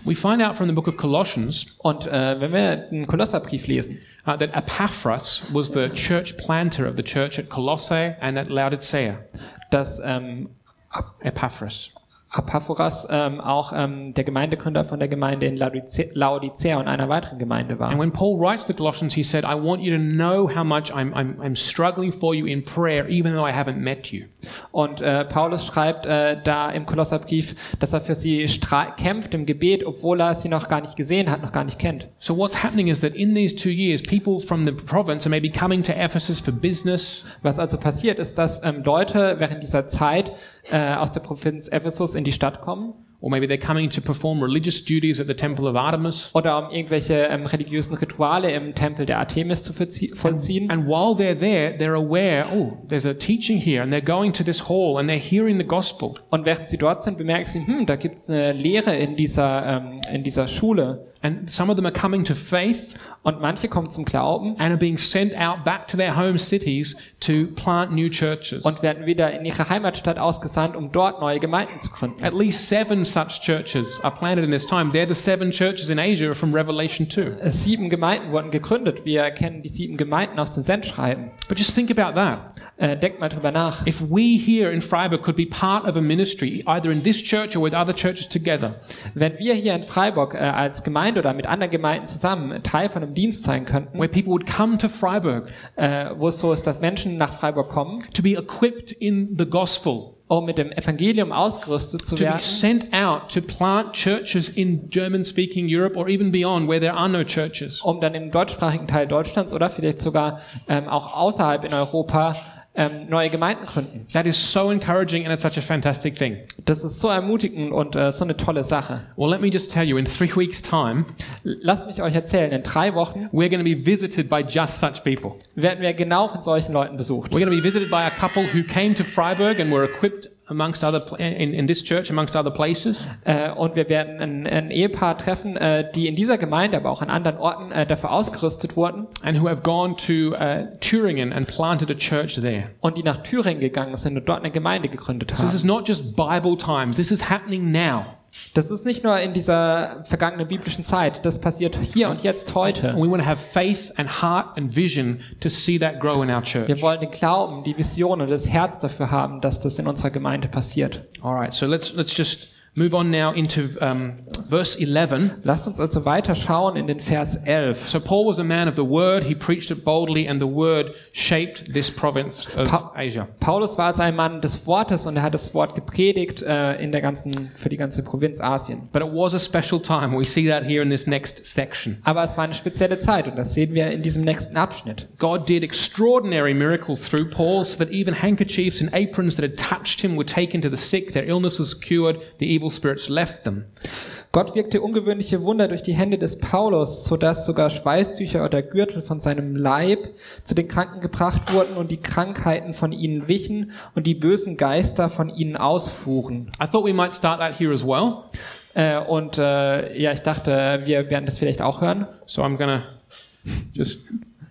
We find out from the book of Colossians Und äh, wenn wir den Kolosserbrief lesen, uh, that Epaphras was the church planter of the church at Colossae and at Laodicea. dass ähm, Epaphras. Epaphoras ähm, auch ähm, der Gemeindegründer von der Gemeinde in Laodice- Laodicea und einer weiteren Gemeinde war. And when Paul writes the Colossians, he said, I want you to know how much I'm, I'm, I'm struggling for you in prayer, even though I haven't met you. Und äh, Paulus schreibt äh, da im Kolosserbrief, dass er für sie stra- kämpft im Gebet, obwohl er sie noch gar nicht gesehen hat, noch gar nicht kennt. So what's happening is that in these two years, people from the province are maybe coming to Ephesus for business. Was also passiert ist, dass ähm, Leute während dieser Zeit äh, aus der Provinz Ephesus in die Stadt kommen. Or maybe they're coming to perform religious duties at the temple of Artemis. Oder um irgendwelche ähm, religiösen Rituale im Tempel der Artemis zu verzie- vollziehen. And while they're there, they're aware, oh, there's a teaching here, and they're going to this hall and they're hearing the gospel. Und während sie dort sind, bemerken sie, hm, da gibt's eine Lehre in dieser, ähm, in dieser Schule. And some of them are coming to faith Und manche kommen zum Glauben and are being sent out back to their home cities to plant new churches. und werden wieder in ihre Heimatstadt ausgesandt, um dort neue Gemeinden zu gründen. At least seven such churches are planted in this time. They're the seven churches in Asia from Revelation two. Sieben Gemeinden wurden gegründet. Wir kennen die sieben Gemeinden aus den Sendschreiben. But just think about that. Äh, denkt mal drüber nach. If we here in Freiburg could be part of a ministry, either in this church or with other churches together, Wenn wir hier in Freiburg äh, als Gemeinde oder mit anderen Gemeinden zusammen Teil von einem Dienst sein könnten, where people would come to Freiburg äh, wo es so ist, dass Menschen nach Freiburg kommen, to be equipped in the gospel, um mit dem Evangelium ausgerüstet zu to be werden, sent out to plant churches in German-speaking Europe or even beyond where there are no churches. um dann im deutschsprachigen Teil Deutschlands oder vielleicht sogar ähm, auch außerhalb in Europa ähm, neue Gemeinden gründen. That is so encouraging and it's such a fantastic thing. Das ist so ermutigend und äh, so eine tolle Sache. Well, let me just tell you, in three weeks' time, Lasst mich euch erzählen, in drei Wochen we're going to be visited by just such people. werden wir genau von solchen Leuten besucht. We're going to be visited by a couple who came to Freiburg and were equipped amongst other pl- in, in this church amongst other places. Äh, und wir werden ein, ein Ehepaar treffen, äh, die in dieser Gemeinde, aber auch an anderen Orten äh, dafür ausgerüstet wurden And who have gone to uh, Thüringen and planted a church there. und die nach Thüringen gegangen sind und dort eine Gemeinde gegründet So this is haben. not just Bible times. This is happening now. Das ist nicht nur in dieser vergangenen biblischen Zeit, das passiert hier und jetzt heute. And we want to have faith and heart and vision to see that grow in our church. Wir wollen den Glauben, die Vision und das Herz dafür haben, dass das in unserer Gemeinde passiert. All right, so let's let's just move on now into um, verse eleven. Lasst uns also weiter schauen in den Vers elf. So Paul was a man of the word. He preached it boldly, and the word shaped this province of Pa- Asia. Paulus war also ein Mann des Wortes und er hat das Wort gepredigt äh, in der ganzen, für die ganze Provinz Asien. But it was a special time. We see that here in this next section. Aber es war eine spezielle Zeit und das sehen wir in diesem nächsten Abschnitt. God did extraordinary miracles through Paul, so that even handkerchiefs and aprons that had touched him were taken to the sick. Their illness was cured. The evil spirits left them. Gott wirkte ungewöhnliche Wunder durch die Hände des Paulus, sodass sogar Schweißtücher oder Gürtel von seinem Leib zu den Kranken gebracht wurden und die Krankheiten von ihnen wichen und die bösen Geister von ihnen ausfuhren. I thought we might start that here as well. Äh, und äh, ja, ich dachte, wir werden das vielleicht auch hören. So I'm gonna just.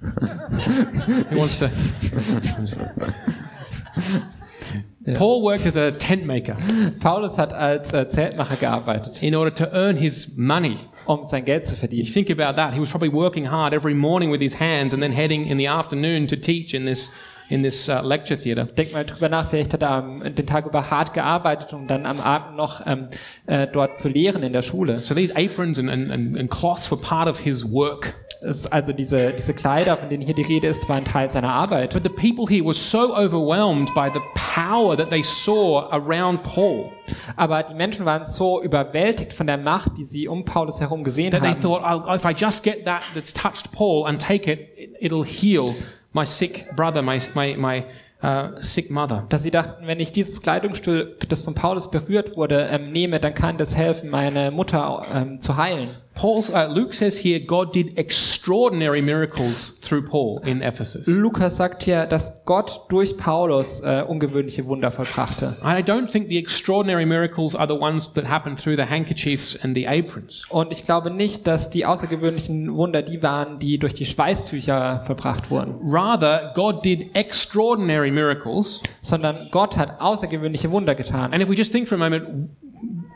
Who wants to? Paul worked as a tent maker Paulus hat als äh, Zeltmacher gearbeitet, in order to earn his money. um sein Geld zu You verdienen. think about that. He was probably working hard every morning with his hands and then heading in the afternoon to teach in this in this uh, lecture theater. Denk mal drüber nach, vielleicht hat er am, den Tag über hart gearbeitet, um dann am Abend noch ähm, äh, dort zu lehren in der Schule. So these aprons and, and, and and cloths were part of his work. Es, also diese, diese Kleider, von denen hier die Rede ist, waren Teil seiner Arbeit. But the people here were so overwhelmed by the power that they saw around Paul Aber die Menschen waren so überwältigt von der Macht, die sie um Paulus herum gesehen that they haben, thought, oh, if I just get that that's touched Paul and take it, it it'll heal my sick brother, my my my uh, sick mother. dass sie dachten, wenn ich dieses Kleidungsstück, das von Paulus berührt wurde, ähm, nehme, dann kann das helfen, meine Mutter ähm, zu heilen. Paul's, uh, Luke says here, God did extraordinary miracles through Paul in Ephesus. Lukas sagt hier, dass Gott durch Paulus äh, ungewöhnliche Wunder vollbrachte. And I don't think the extraordinary miracles are the ones that happen through the handkerchiefs and the aprons. Und ich glaube nicht, dass die außergewöhnlichen Wunder die waren, die durch die Schweißtücher vollbracht wurden, Rather, God did extraordinary miracles. sondern Gott hat außergewöhnliche Wunder getan. And if we just think for a moment,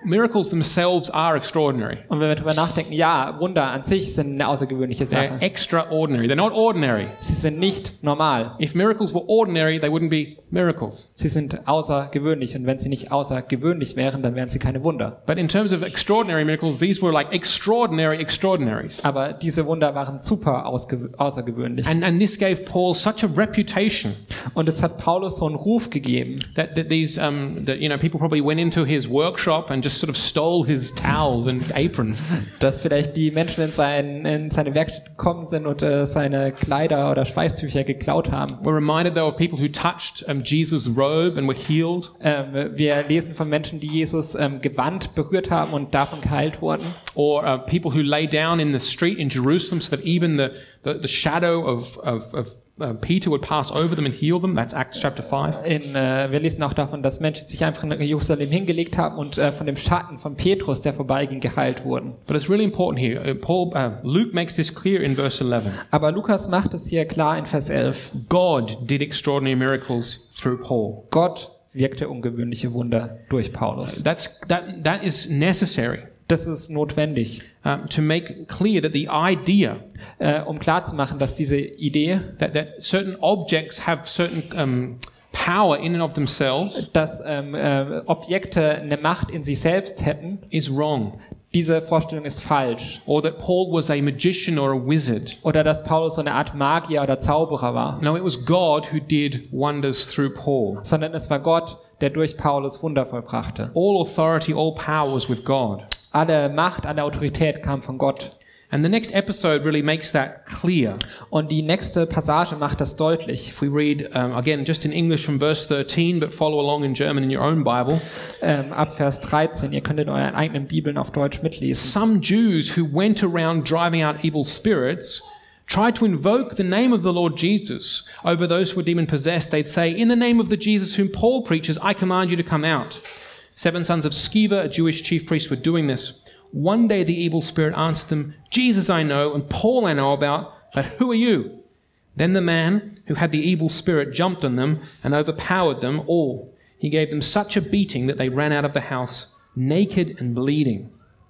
miracles themselves are extraordinary. Und wenn wir darüber nachdenken, ja, Wunder an sich sind eine außergewöhnliche They're Sache. extraordinary. They're not ordinary. Sie sind nicht normal. If miracles were ordinary, they wouldn't be miracles. Sie sind außergewöhnlich. Und wenn sie nicht außergewöhnlich wären, dann wären sie keine Wunder. But in terms of extraordinary miracles, these were like extraordinary extraordinaries. Aber diese Wunder waren super ausge- außergewöhnlich. And, and this gave Paul such a reputation Und es hat Paulus so einen Ruf gegeben, that, that these, um, that, you know, people probably went into his workshop and just sort of stole his towels and aprons. dass vielleicht die Menschen in, sein, in seine Werkstatt gekommen sind und äh, seine Kleider oder Schweißtücher geklaut haben. We're reminded though of people who touched um, Jesus' robe and were healed. Ähm, wir lesen von Menschen, die Jesus ähm, Gewand berührt haben und davon geheilt wurden. Or uh, people who lay down in the street in Jerusalem so that even the, the, the shadow of, of, of uh, Peter would pass over them and heal them. That's Acts chapter five. In, äh, wir lesen auch davon, dass Menschen sich einfach in Jerusalem hingelegt haben und äh, von dem Schatten von Petrus, der vorbeiging, geheilt wurden. But it's really important here. Uh, Paul, uh, Luke makes this clear in verse eleven. Aber Lukas macht es hier klar in Vers elf. God did extraordinary miracles through Paul. Gott wirkte ungewöhnliche Wunder durch Paulus. That's, that, that is necessary Das ist notwendig, um, to make clear that the idea äh, um klarzumachen, dass diese Idee, that, that certain objects have certain um, power in and of themselves dass ähm, äh, Objekte eine Macht in sich selbst hätten, is wrong. diese Vorstellung ist falsch. Or that Paul was a magician or a wizard. Oder dass Paulus so eine Art Magier oder Zauberer war. No, it was God who did wonders through Paul. Sondern es war Gott, der durch Paulus Wunder vollbrachte. All authority, all power was with God. Alle Macht, alle Autorität kam von Gott. And the next episode really makes that clear. Und die nächste Passage macht das deutlich. If we read, um, again, just in English from verse thirteen, but follow along in German in your own Bible. Ähm, ab Vers dreizehn, ihr könnt in euren eigenen Bibeln auf Deutsch mitlesen. Some Jews who went around driving out evil spirits tried to invoke the name of the Lord Jesus over those who were demon-possessed. They'd say, in the name of the Jesus whom Paul preaches, I command you to come out. Seven sons of Sceva, a Jewish chief priest, were doing this. One day the evil spirit answered them, Jesus I know, and Paul I know about, but who are you? Then the man who had the evil spirit jumped on them and overpowered them all. He gave them such a beating that they ran out of the house, naked and bleeding.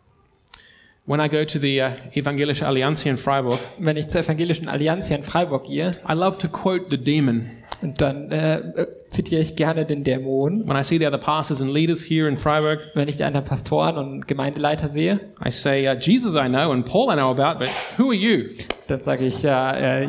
When I go to the uh, Evangelische Allianz here in Freiburg, Wenn ich zur Evangelischen Allianz hier in Freiburg gehe, I love to quote the demon. und dann äh, äh, zitiere ich gerne den Dämon. When I see the other pastors and leaders here in Freiburg, Wenn ich die anderen Pastoren und Gemeindeleiter sehe, I say, uh, Jesus I know and Paul I know about, but who are you? dann sage ich, ja, äh,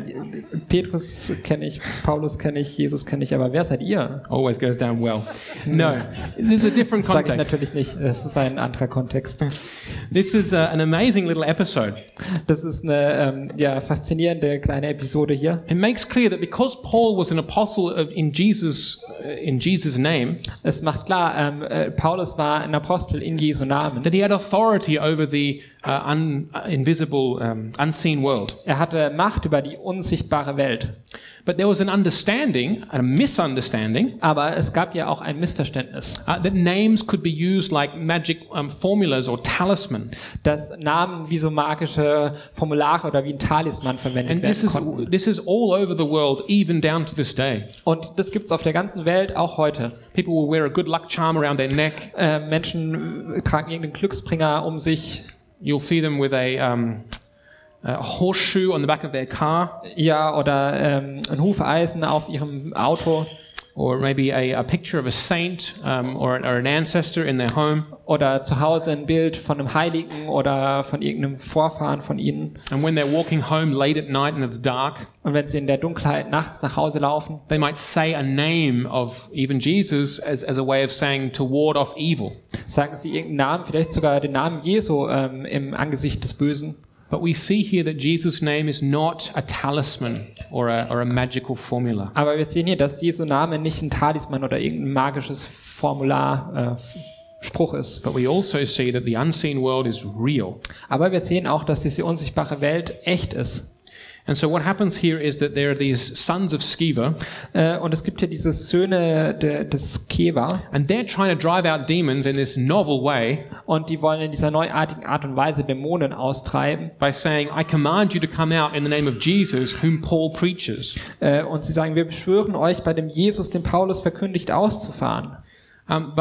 Petrus kenne ich, Paulus kenne ich, Jesus kenne ich, aber wer seid ihr? Always goes down well. No, this is a different Das sage ich context. natürlich nicht, das ist ein anderer Kontext. This is uh, an amazing little episode. Das ist eine ähm, ja, faszinierende kleine Episode hier. It makes clear that because Paul was an apostle of, in Jesus, uh, in Jesus' name, Es macht klar, ähm, äh, Paulus war ein Apostel in Jesu Namen. that he had authority over the uh, un, uh, invisible, um, unseen world. Er hatte Macht über die unsichtbare Welt. But there was an understanding, a misunderstanding, Aber es gab ja auch ein Missverständnis, uh, that names could be used like magic um, formulas or talisman. dass Namen wie so magische Formulare oder wie ein Talisman verwendet And this werden is konnten. this is all over the world, even down to this day. Und das gibt's auf der ganzen Welt, auch heute. People will wear a good luck charm around their neck. Äh, Menschen tragen irgendeinen Glücksbringer um sich. You'll see them with a, um, a horseshoe on the back of their car, Ja, oder ähm, ein Hufeisen auf ihrem Auto. or maybe a, a picture of a saint um, or, or an ancestor in their home. Oder zu Hause ein Bild von einem Heiligen oder von irgendeinem Vorfahren von ihnen. And when they're walking home late at night and it's dark, Und wenn sie in der Dunkelheit nachts nach Hause laufen, they might say a name of even Jesus as, as a way of saying to ward off evil. sagen sie irgendeinen Namen, vielleicht sogar den Namen Jesu ähm, im Angesicht des Bösen. But we see here that Jesus' name is not a talisman or a, or a magical formula. Aber wir sehen hier, dass Jesu Name nicht ein Talisman oder irgendein magisches Formular, äh, Spruch ist. But we also see that the unseen world is real. Aber wir sehen auch, dass diese unsichtbare Welt echt ist. And so what happens here is that there are these sons of Sceva, Äh, und es gibt hier diese Söhne de, des Keva, and they're trying to drive out demons in this novel way und die wollen in dieser neuartigen Art und Weise Dämonen austreiben. by saying, I command you to come out in the name of Jesus, whom Paul preaches. Äh, und sie sagen, wir beschwören euch, bei dem Jesus, den Paulus verkündigt, auszufahren. Um, but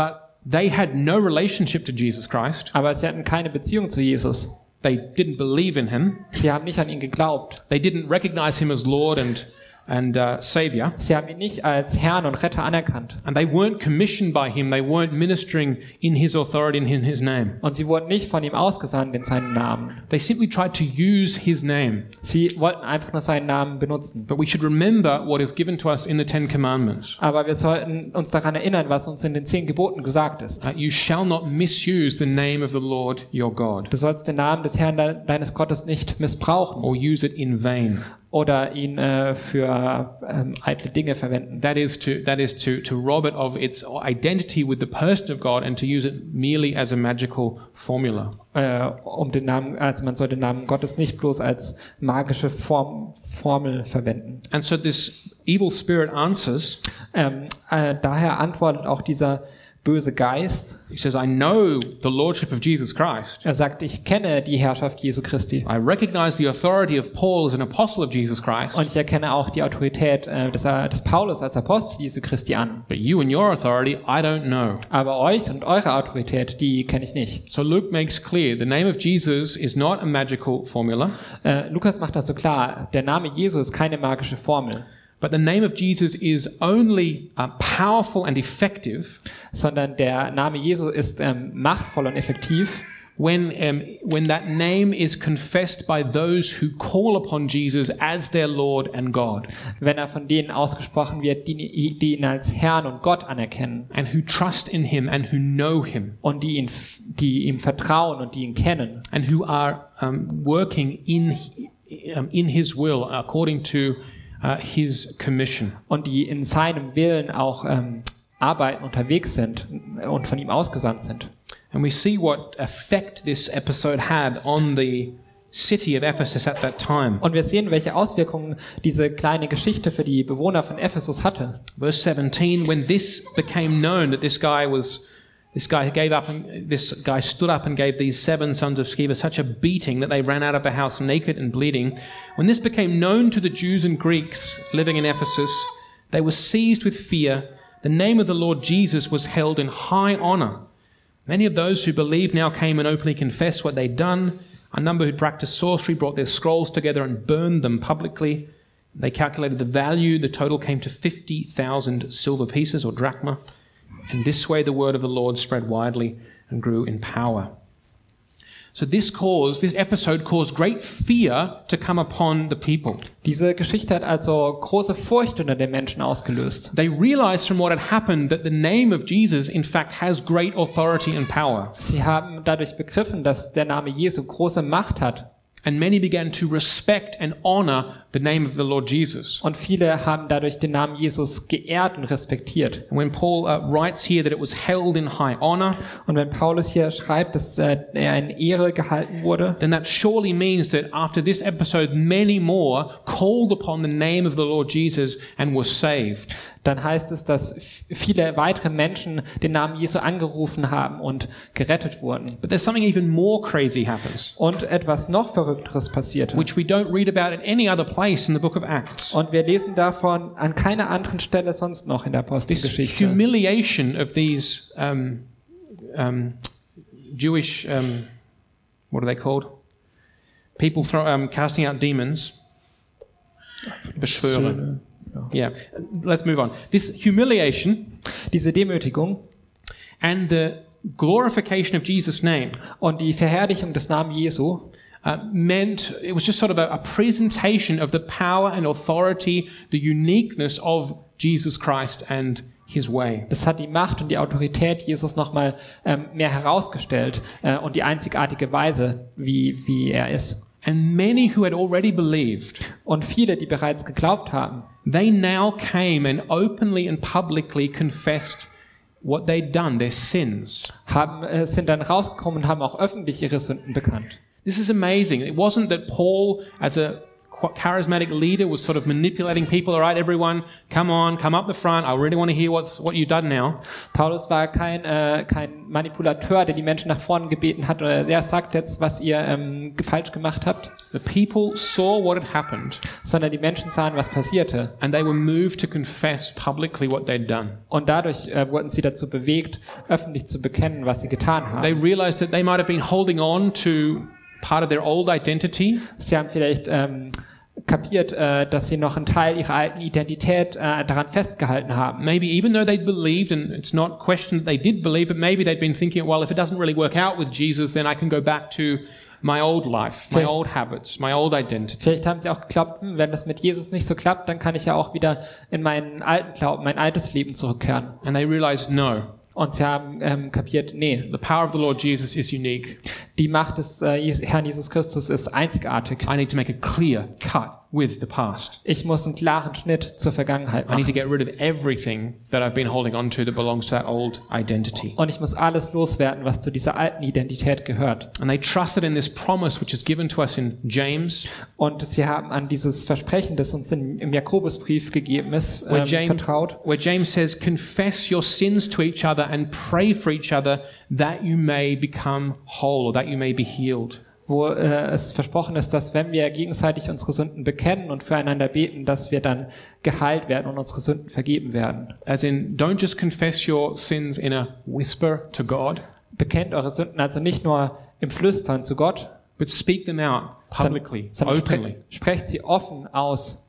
they had no relationship to Jesus Christ. Aber sie hatten keine Beziehung zu Jesus. They didn't believe in him. Sie haben nicht an ihn geglaubt. They didn't recognize him as Lord and and uh, Savior. Sie haben ihn nicht als Herrn und Retter anerkannt. And they weren't commissioned by him. They weren't ministering in his authority and in his name. Und sie wurden nicht von ihm ausgesandt in seinen Namen. They simply tried to use his name. Sie wollten einfach nur seinen Namen benutzen. But we should remember what is given to us in the Ten Commandments. Aber wir sollten uns daran erinnern, was uns in den zehn Geboten gesagt ist. Uh, you shall not misuse the name of the Lord your God, Du sollst den Namen des Herrn de- deines Gottes nicht missbrauchen or use it in vain. oder ihn äh, für ähm, eitle Dinge verwenden. That is to that is to to rob it of its identity with the person of God and to use it merely as a magical formula. Äh, um den Namen, also man soll den Namen Gottes nicht bloß als magische Form, Formel verwenden. And so this evil spirit answers. Ähm, äh, daher antwortet auch dieser böse Geist. He says, I know the lordship of Jesus Christ. Er sagt, ich kenne die Herrschaft Jesu Christi. I recognize the authority of Paul as an apostle of Jesus Christ. Und ich erkenne auch die Autorität äh, des, äh, des Paulus als Apostel Jesu Christi an. But you and your authority, I don't know. Aber euch und eure Autorität, die kenne ich nicht. So Luke makes clear the name of Jesus is not a magical formula, Äh, Lukas macht das so klar, der Name Jesu ist keine magische Formel, but the name of Jesus is only uh, powerful and effective sondern der Name Jesu ist ähm, machtvoll und effektiv, when um, when that name is confessed by those who call upon Jesus as their Lord and God, wenn er von denen ausgesprochen wird, die, die ihn als Herrn und Gott anerkennen and who trust in him and who know him, und die, ihn, die ihm vertrauen und die ihn kennen and who are um, working in um, in his will according to uh, his commission. und die in seinem Willen auch ähm, arbeiten, unterwegs sind und von ihm ausgesandt sind. And we see what effect this episode had on the city of Ephesus at that time. Und wir sehen, welche Auswirkungen diese kleine Geschichte für die Bewohner von Ephesus hatte. Verse seventeen, when this became known that this guy was, this guy gave up, and this guy stood up and gave these seven sons of Sceva such a beating that they ran out of the house naked and bleeding. When this became known to the Jews and Greeks living in Ephesus, they were seized with fear. The name of the Lord Jesus was held in high honor. Many of those who believed now came and openly confessed what they'd done. A number who practiced sorcery brought their scrolls together and burned them publicly. They calculated the value. The total came to fifty thousand silver pieces or drachma. And this way the word of the Lord spread widely and grew in power. So this caused, this episode caused great fear to come upon the people. Diese Geschichte hat also große Furcht unter den Menschen ausgelöst. They realized from what had happened that the name of Jesus in fact has great authority and power. Sie haben dadurch begriffen, dass der Name Jesu große Macht hat. And many began to respect and honor the name of the Lord Jesus. Und viele haben dadurch den Namen Jesus geehrt und respektiert. And when Paul uh, writes here that it was held in high honor, Und wenn Paulus hier schreibt, dass äh, er in Ehre gehalten wurde, then that surely means that after this episode, many more called upon the name of the Lord Jesus and were saved. dann heißt es, dass f- viele weitere Menschen den Namen Jesu angerufen haben und gerettet wurden. But there's something even more crazy happens, Und etwas noch Verrückteres passierte. which we don't read about at any other place in the book of Acts. Und wir lesen davon an keiner anderen Stelle sonst noch in der This Apostelgeschichte. humiliation of these um, um, Jewish, um, what are they called? People throw, um, casting out demons. Beschwören. Yeah, let's move on. This humiliation Diese Demütigung and the glorification of Jesus' name und die Verherrlichung des Namens Jesu uh, meant it was just sort of a, a presentation of the power and authority, the uniqueness of Jesus Christ and his way. Das hat die Macht und die Autorität Jesus nochmal ähm, mehr herausgestellt äh, und die einzigartige Weise, wie, wie er ist. And many who had already believed, Und viele, die bereits geglaubt haben, they now came and openly and publicly confessed what they'd done, their sins. haben äh, sind dann rausgekommen und haben auch öffentlich ihre Sünden bekannt. This is amazing. It wasn't that Paul, as a charismatic leader was sort of manipulating people. All right, everyone, come on, come up the front. I really want to hear what's what you've done now. Paulus war kein, äh, kein Manipulateur, der die Menschen nach vorne gebeten hat oder er sagt jetzt, was ihr ähm, falsch gemacht habt. The people saw what had happened. Sondern die Menschen sahen, was passierte. And they were moved to confess publicly what they'd done. Und dadurch äh, wurden sie dazu bewegt, öffentlich zu bekennen, was sie getan haben. They realized that they might have been holding on to part of their old identity. Sie haben vielleicht ähm, kapiert, äh, dass sie noch einen Teil ihrer alten Identität äh, daran festgehalten haben. Maybe even though they'd believed, and it's not a question that they did believe, but maybe they'd been thinking, well, if it doesn't really work out with Jesus, then I can go back to my old life, my Vielleicht- old habits, my old identity. Vielleicht haben sie auch geglaubt, hm, wenn das mit Jesus nicht so klappt, dann kann ich ja auch wieder in meinen alten Glauben, mein altes Leben zurückkehren. And they realized, no, Und sie haben ähm, kapiert, nee, the power of the Lord Jesus is unique. die Macht des äh, Jes- Herrn Jesus Christus ist einzigartig. I need to make a clear cut with the past. Ich muss einen klaren Schnitt zur Vergangenheit I need to machen. get rid of everything that I've been holding on to that belongs to that old identity. Und ich muss alles loswerden, was zu dieser alten Identität gehört. And they trusted in this promise which is given to us in James, Und sie haben an dieses Versprechen, das uns in, im Jakobusbrief gegeben ist, where ähm, James, vertraut. where James says, confess your sins to each other and pray for each other that you may become whole or that you may be healed. Wo äh, es versprochen ist, dass wenn wir gegenseitig unsere Sünden bekennen und füreinander beten, dass wir dann geheilt werden und unsere Sünden vergeben werden. As in, don't just confess your sins in a whisper to God, Bekennt eure Sünden also nicht nur im Flüstern zu Gott, but speak them out publicly, sondern openly. spre sprecht sie offen aus.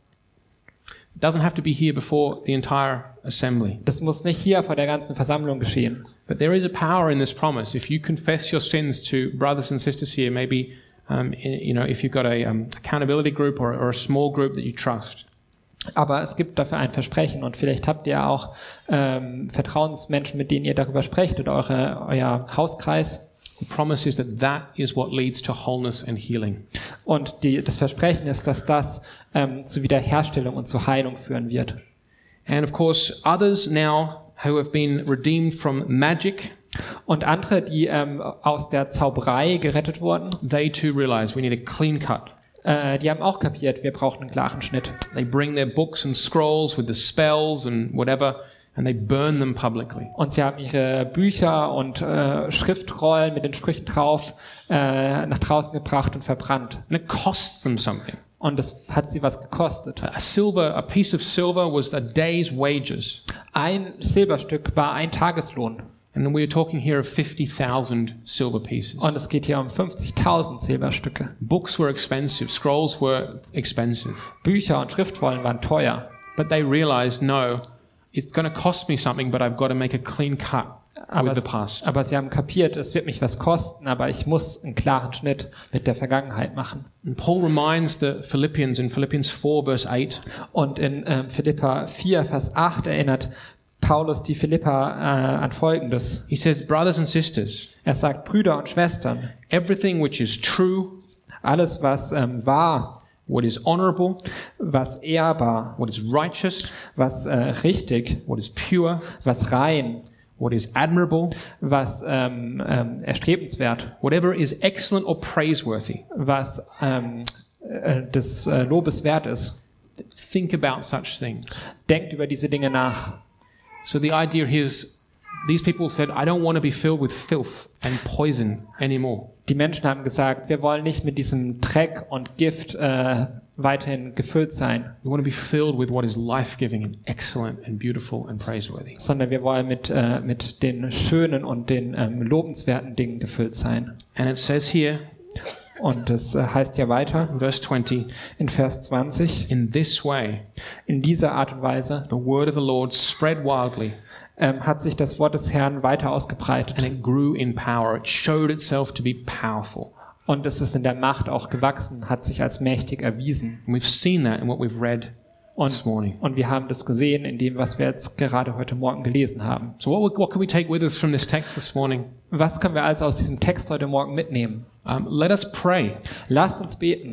It doesn't have to be here before the entire assembly. Das muss nicht hier vor der ganzen Versammlung geschehen. But there is a power in this promise. If you confess your sins to brothers and sisters here, maybe, um, i- you know, if you've got a um, accountability group or, or a small group that you trust, Aber es gibt dafür ein Versprechen und vielleicht habt ihr auch ähm, Vertrauensmenschen, mit denen ihr darüber sprecht oder eure, euer Hauskreis. the promise is that that is what leads to wholeness and healing. Und die, das Versprechen ist, dass das ähm, zu Wiederherstellung und zu Heilung führen wird. And of course, others now who have been redeemed from magic, Und andere, die ähm, aus der Zauberei gerettet wurden, they too realize we need a clean cut. äh, die haben auch kapiert, wir brauchen einen klaren Schnitt. They bring their books and scrolls with the spells and whatever, and they burn them publicly. Und sie haben ihre Bücher und äh, Schriftrollen mit den Sprüchen drauf äh, nach draußen gebracht und verbrannt. And it costs them something. Und das hat sie was gekostet. A silver, a piece of silver was a day's wages. Ein Silberstück war ein Tageslohn. And we're talking here of fifty thousand silver pieces. Und es geht hier um fünfzigtausend Silberstücke. Books were expensive, scrolls were expensive. Bücher und Schriftrollen waren teuer. But they realized, no, it's going to cost me something, but I've got to make a clean cut Aber, with the es, past. aber sie haben kapiert, es wird mich was kosten, aber ich muss einen klaren Schnitt mit der Vergangenheit machen. And Paul reminds the Philippians in Philippians four, verse eight, Und in ähm, Philipper vier, Vers acht erinnert Paulus die Philipper äh, an Folgendes. he says, brothers and sisters, Er sagt, Brüder und Schwestern, everything which is true, alles was ähm, wahr, what is honorable, was ehrbar, what is righteous, was äh, richtig, what is pure, was rein, what is admirable, was ähm, ähm, erstrebenswert, whatever is excellent or praiseworthy, was ähm, äh, des äh, Lobes wert ist. think about such things. Denkt über diese Dinge nach. So the idea here is these people said, I don't want to be filled with filth and poison anymore. Die Menschen haben gesagt, wir wollen nicht mit diesem Dreck und Gift äh, weiterhin gefüllt sein, We want to be filled with what is life-giving and excellent and beautiful and praiseworthy. sondern wir wollen mit, äh, mit den schönen und den ähm, lobenswerten Dingen gefüllt sein. And it says here, Und das äh, heißt ja weiter in verse twenty, in Vers zwanzig, in this way, in dieser Art und Weise the word of the Lord spread wildly ähm, hat sich das Wort des Herrn weiter ausgebreitet. and it grew in power. It showed itself to be powerful. Und es ist in der Macht auch gewachsen, hat sich als mächtig erwiesen. And we've seen that in what we've read this Und, morning. und wir haben das gesehen in dem, was wir jetzt gerade heute Morgen gelesen haben. So what, what can we take with us from this text this morning? Was können wir also aus diesem Text heute Morgen mitnehmen? Um, let us pray. Lasst uns beten.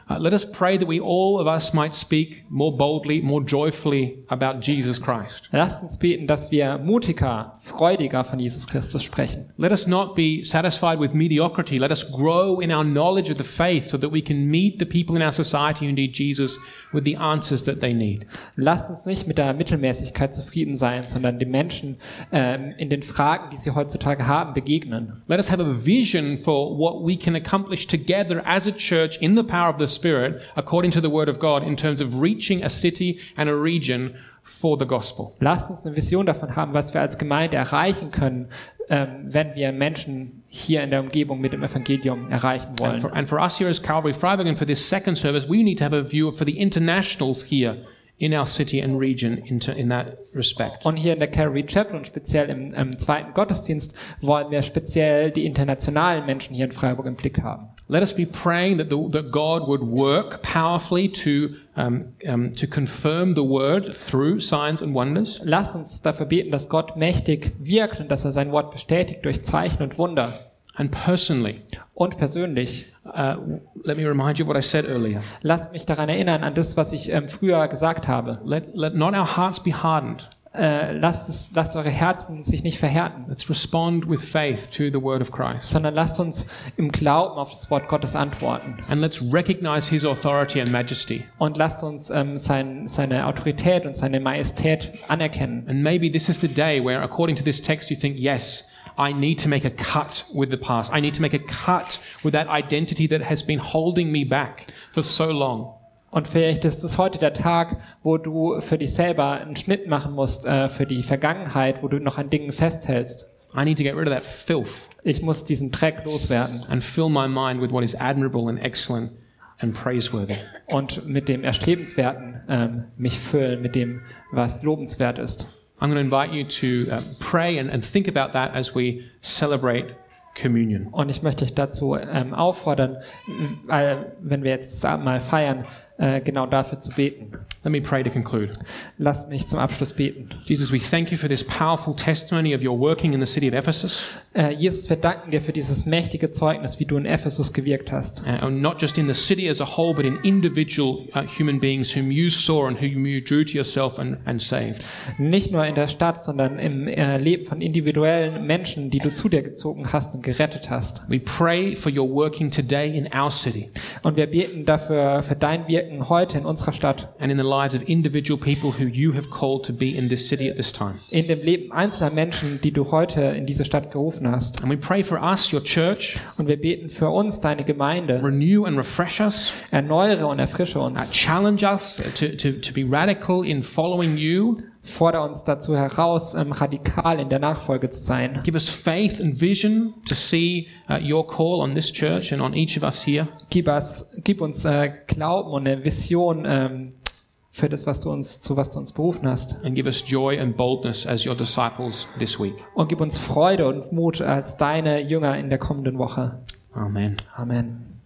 Uh, let us pray that we all of us might speak more boldly, more joyfully about Jesus Christ. Lasst uns beten, dass wir mutiger, freudiger von Jesus Christus sprechen. Let us not be satisfied with mediocrity. Let us grow in our knowledge of the faith so that we can meet the people in our society who need Jesus with the answers that they need. Lasst uns nicht mit der Mittelmäßigkeit zufrieden sein, sondern den Menschen ähm, in den Fragen, die sie heutzutage haben, begegnen. Let us have a vision for what we can accomplish together as a church in the power of the Spirit, according to the Word of God, in terms of reaching a city and a region for the gospel. Lasst uns eine Vision davon haben, was wir als Gemeinde erreichen können, ähm, wenn wir Menschen hier in der Umgebung mit dem Evangelium erreichen wollen. And for, and for us here as Calvary Freiburg and for this second service, we need to have a view for the internationals here in our city and region into, in that respect. Und hier in der Calvary Chapel und speziell im, im zweiten Gottesdienst wollen wir speziell die internationalen Menschen hier in Freiburg im Blick haben. Let us be praying that, the, that God would work powerfully to, um, um, to confirm the word through signs and wonders. Lasst uns dafür beten, dass Gott mächtig wirkt und dass er sein Wort bestätigt durch Zeichen und Wunder. And personally, Und persönlich, uh, let me remind you of what I said earlier. lasst mich daran erinnern, an das, was ich ähm, früher gesagt habe. Let, let not our hearts be hardened. Äh, lasst, es, lasst eure Herzen sich nicht verhärten, Let's respond with faith to the word of Christ. sondern lasst uns im Glauben auf das Wort Gottes antworten. And let's recognize his authority and majesty. Und lasst uns ähm, sein, seine Autorität und seine Majestät anerkennen. And maybe this is the day where, according to this text, you think, yes, I need to make a cut with the past. I need to make a cut with that identity that has been holding me back for so long. Und vielleicht ist es heute der Tag, wo du für dich selber einen Schnitt machen musst äh, für die Vergangenheit, wo du noch an Dingen festhältst. I need to get rid of that filth Ich muss diesen Dreck loswerden and fill my mind with what is admirable and excellent and praiseworthy. und mit dem Erstrebenswerten ähm, mich füllen, mit dem, was lobenswert ist. I'm going to invite you to uh, pray and, and think about that as we celebrate communion. Und ich möchte dich dazu ähm, auffordern, äh, wenn wir jetzt das Abendmahl feiern, äh, genau dafür zu beten. Let me pray to conclude. Lasst mich zum Abschluss beten. Jesus, we thank you for this powerful testimony of your working in the city of Ephesus, Äh, Jesus, wir danken dir für dieses mächtige Zeugnis, wie du in Ephesus gewirkt hast. uh, and not just in the city as a whole, but in individual uh, human beings whom you saw and whom you drew to yourself and, and saved. Nicht nur in der Stadt, sondern im äh, Leben von individuellen Menschen, die du zu dir gezogen hast und gerettet hast. We pray for your working today in our city Und wir beten dafür für dein Wirken heute in unserer Stadt, and in the lives of individual people who you have called to be in this city at this time. in dem Leben einzelner Menschen, die du heute in diese Stadt gerufen hast. And we pray for us, your church, Und wir beten für uns, deine Gemeinde. renew and refresh us, Erneuere und erfrische uh, uns. challenge us to, to, to be radical in following you, Fordere uns dazu heraus, ähm, radikal in der Nachfolge zu sein. give us faith and vision to see uh, your call on this church and on each of us here. Gib, us, gib uns äh, Glauben und eine Vision ähm, für das, was du uns, zu was du uns berufen hast. And give us joy and boldness as your disciples this week. Und gib uns Freude und Mut als deine Jünger in der kommenden Woche. Amen. Amen.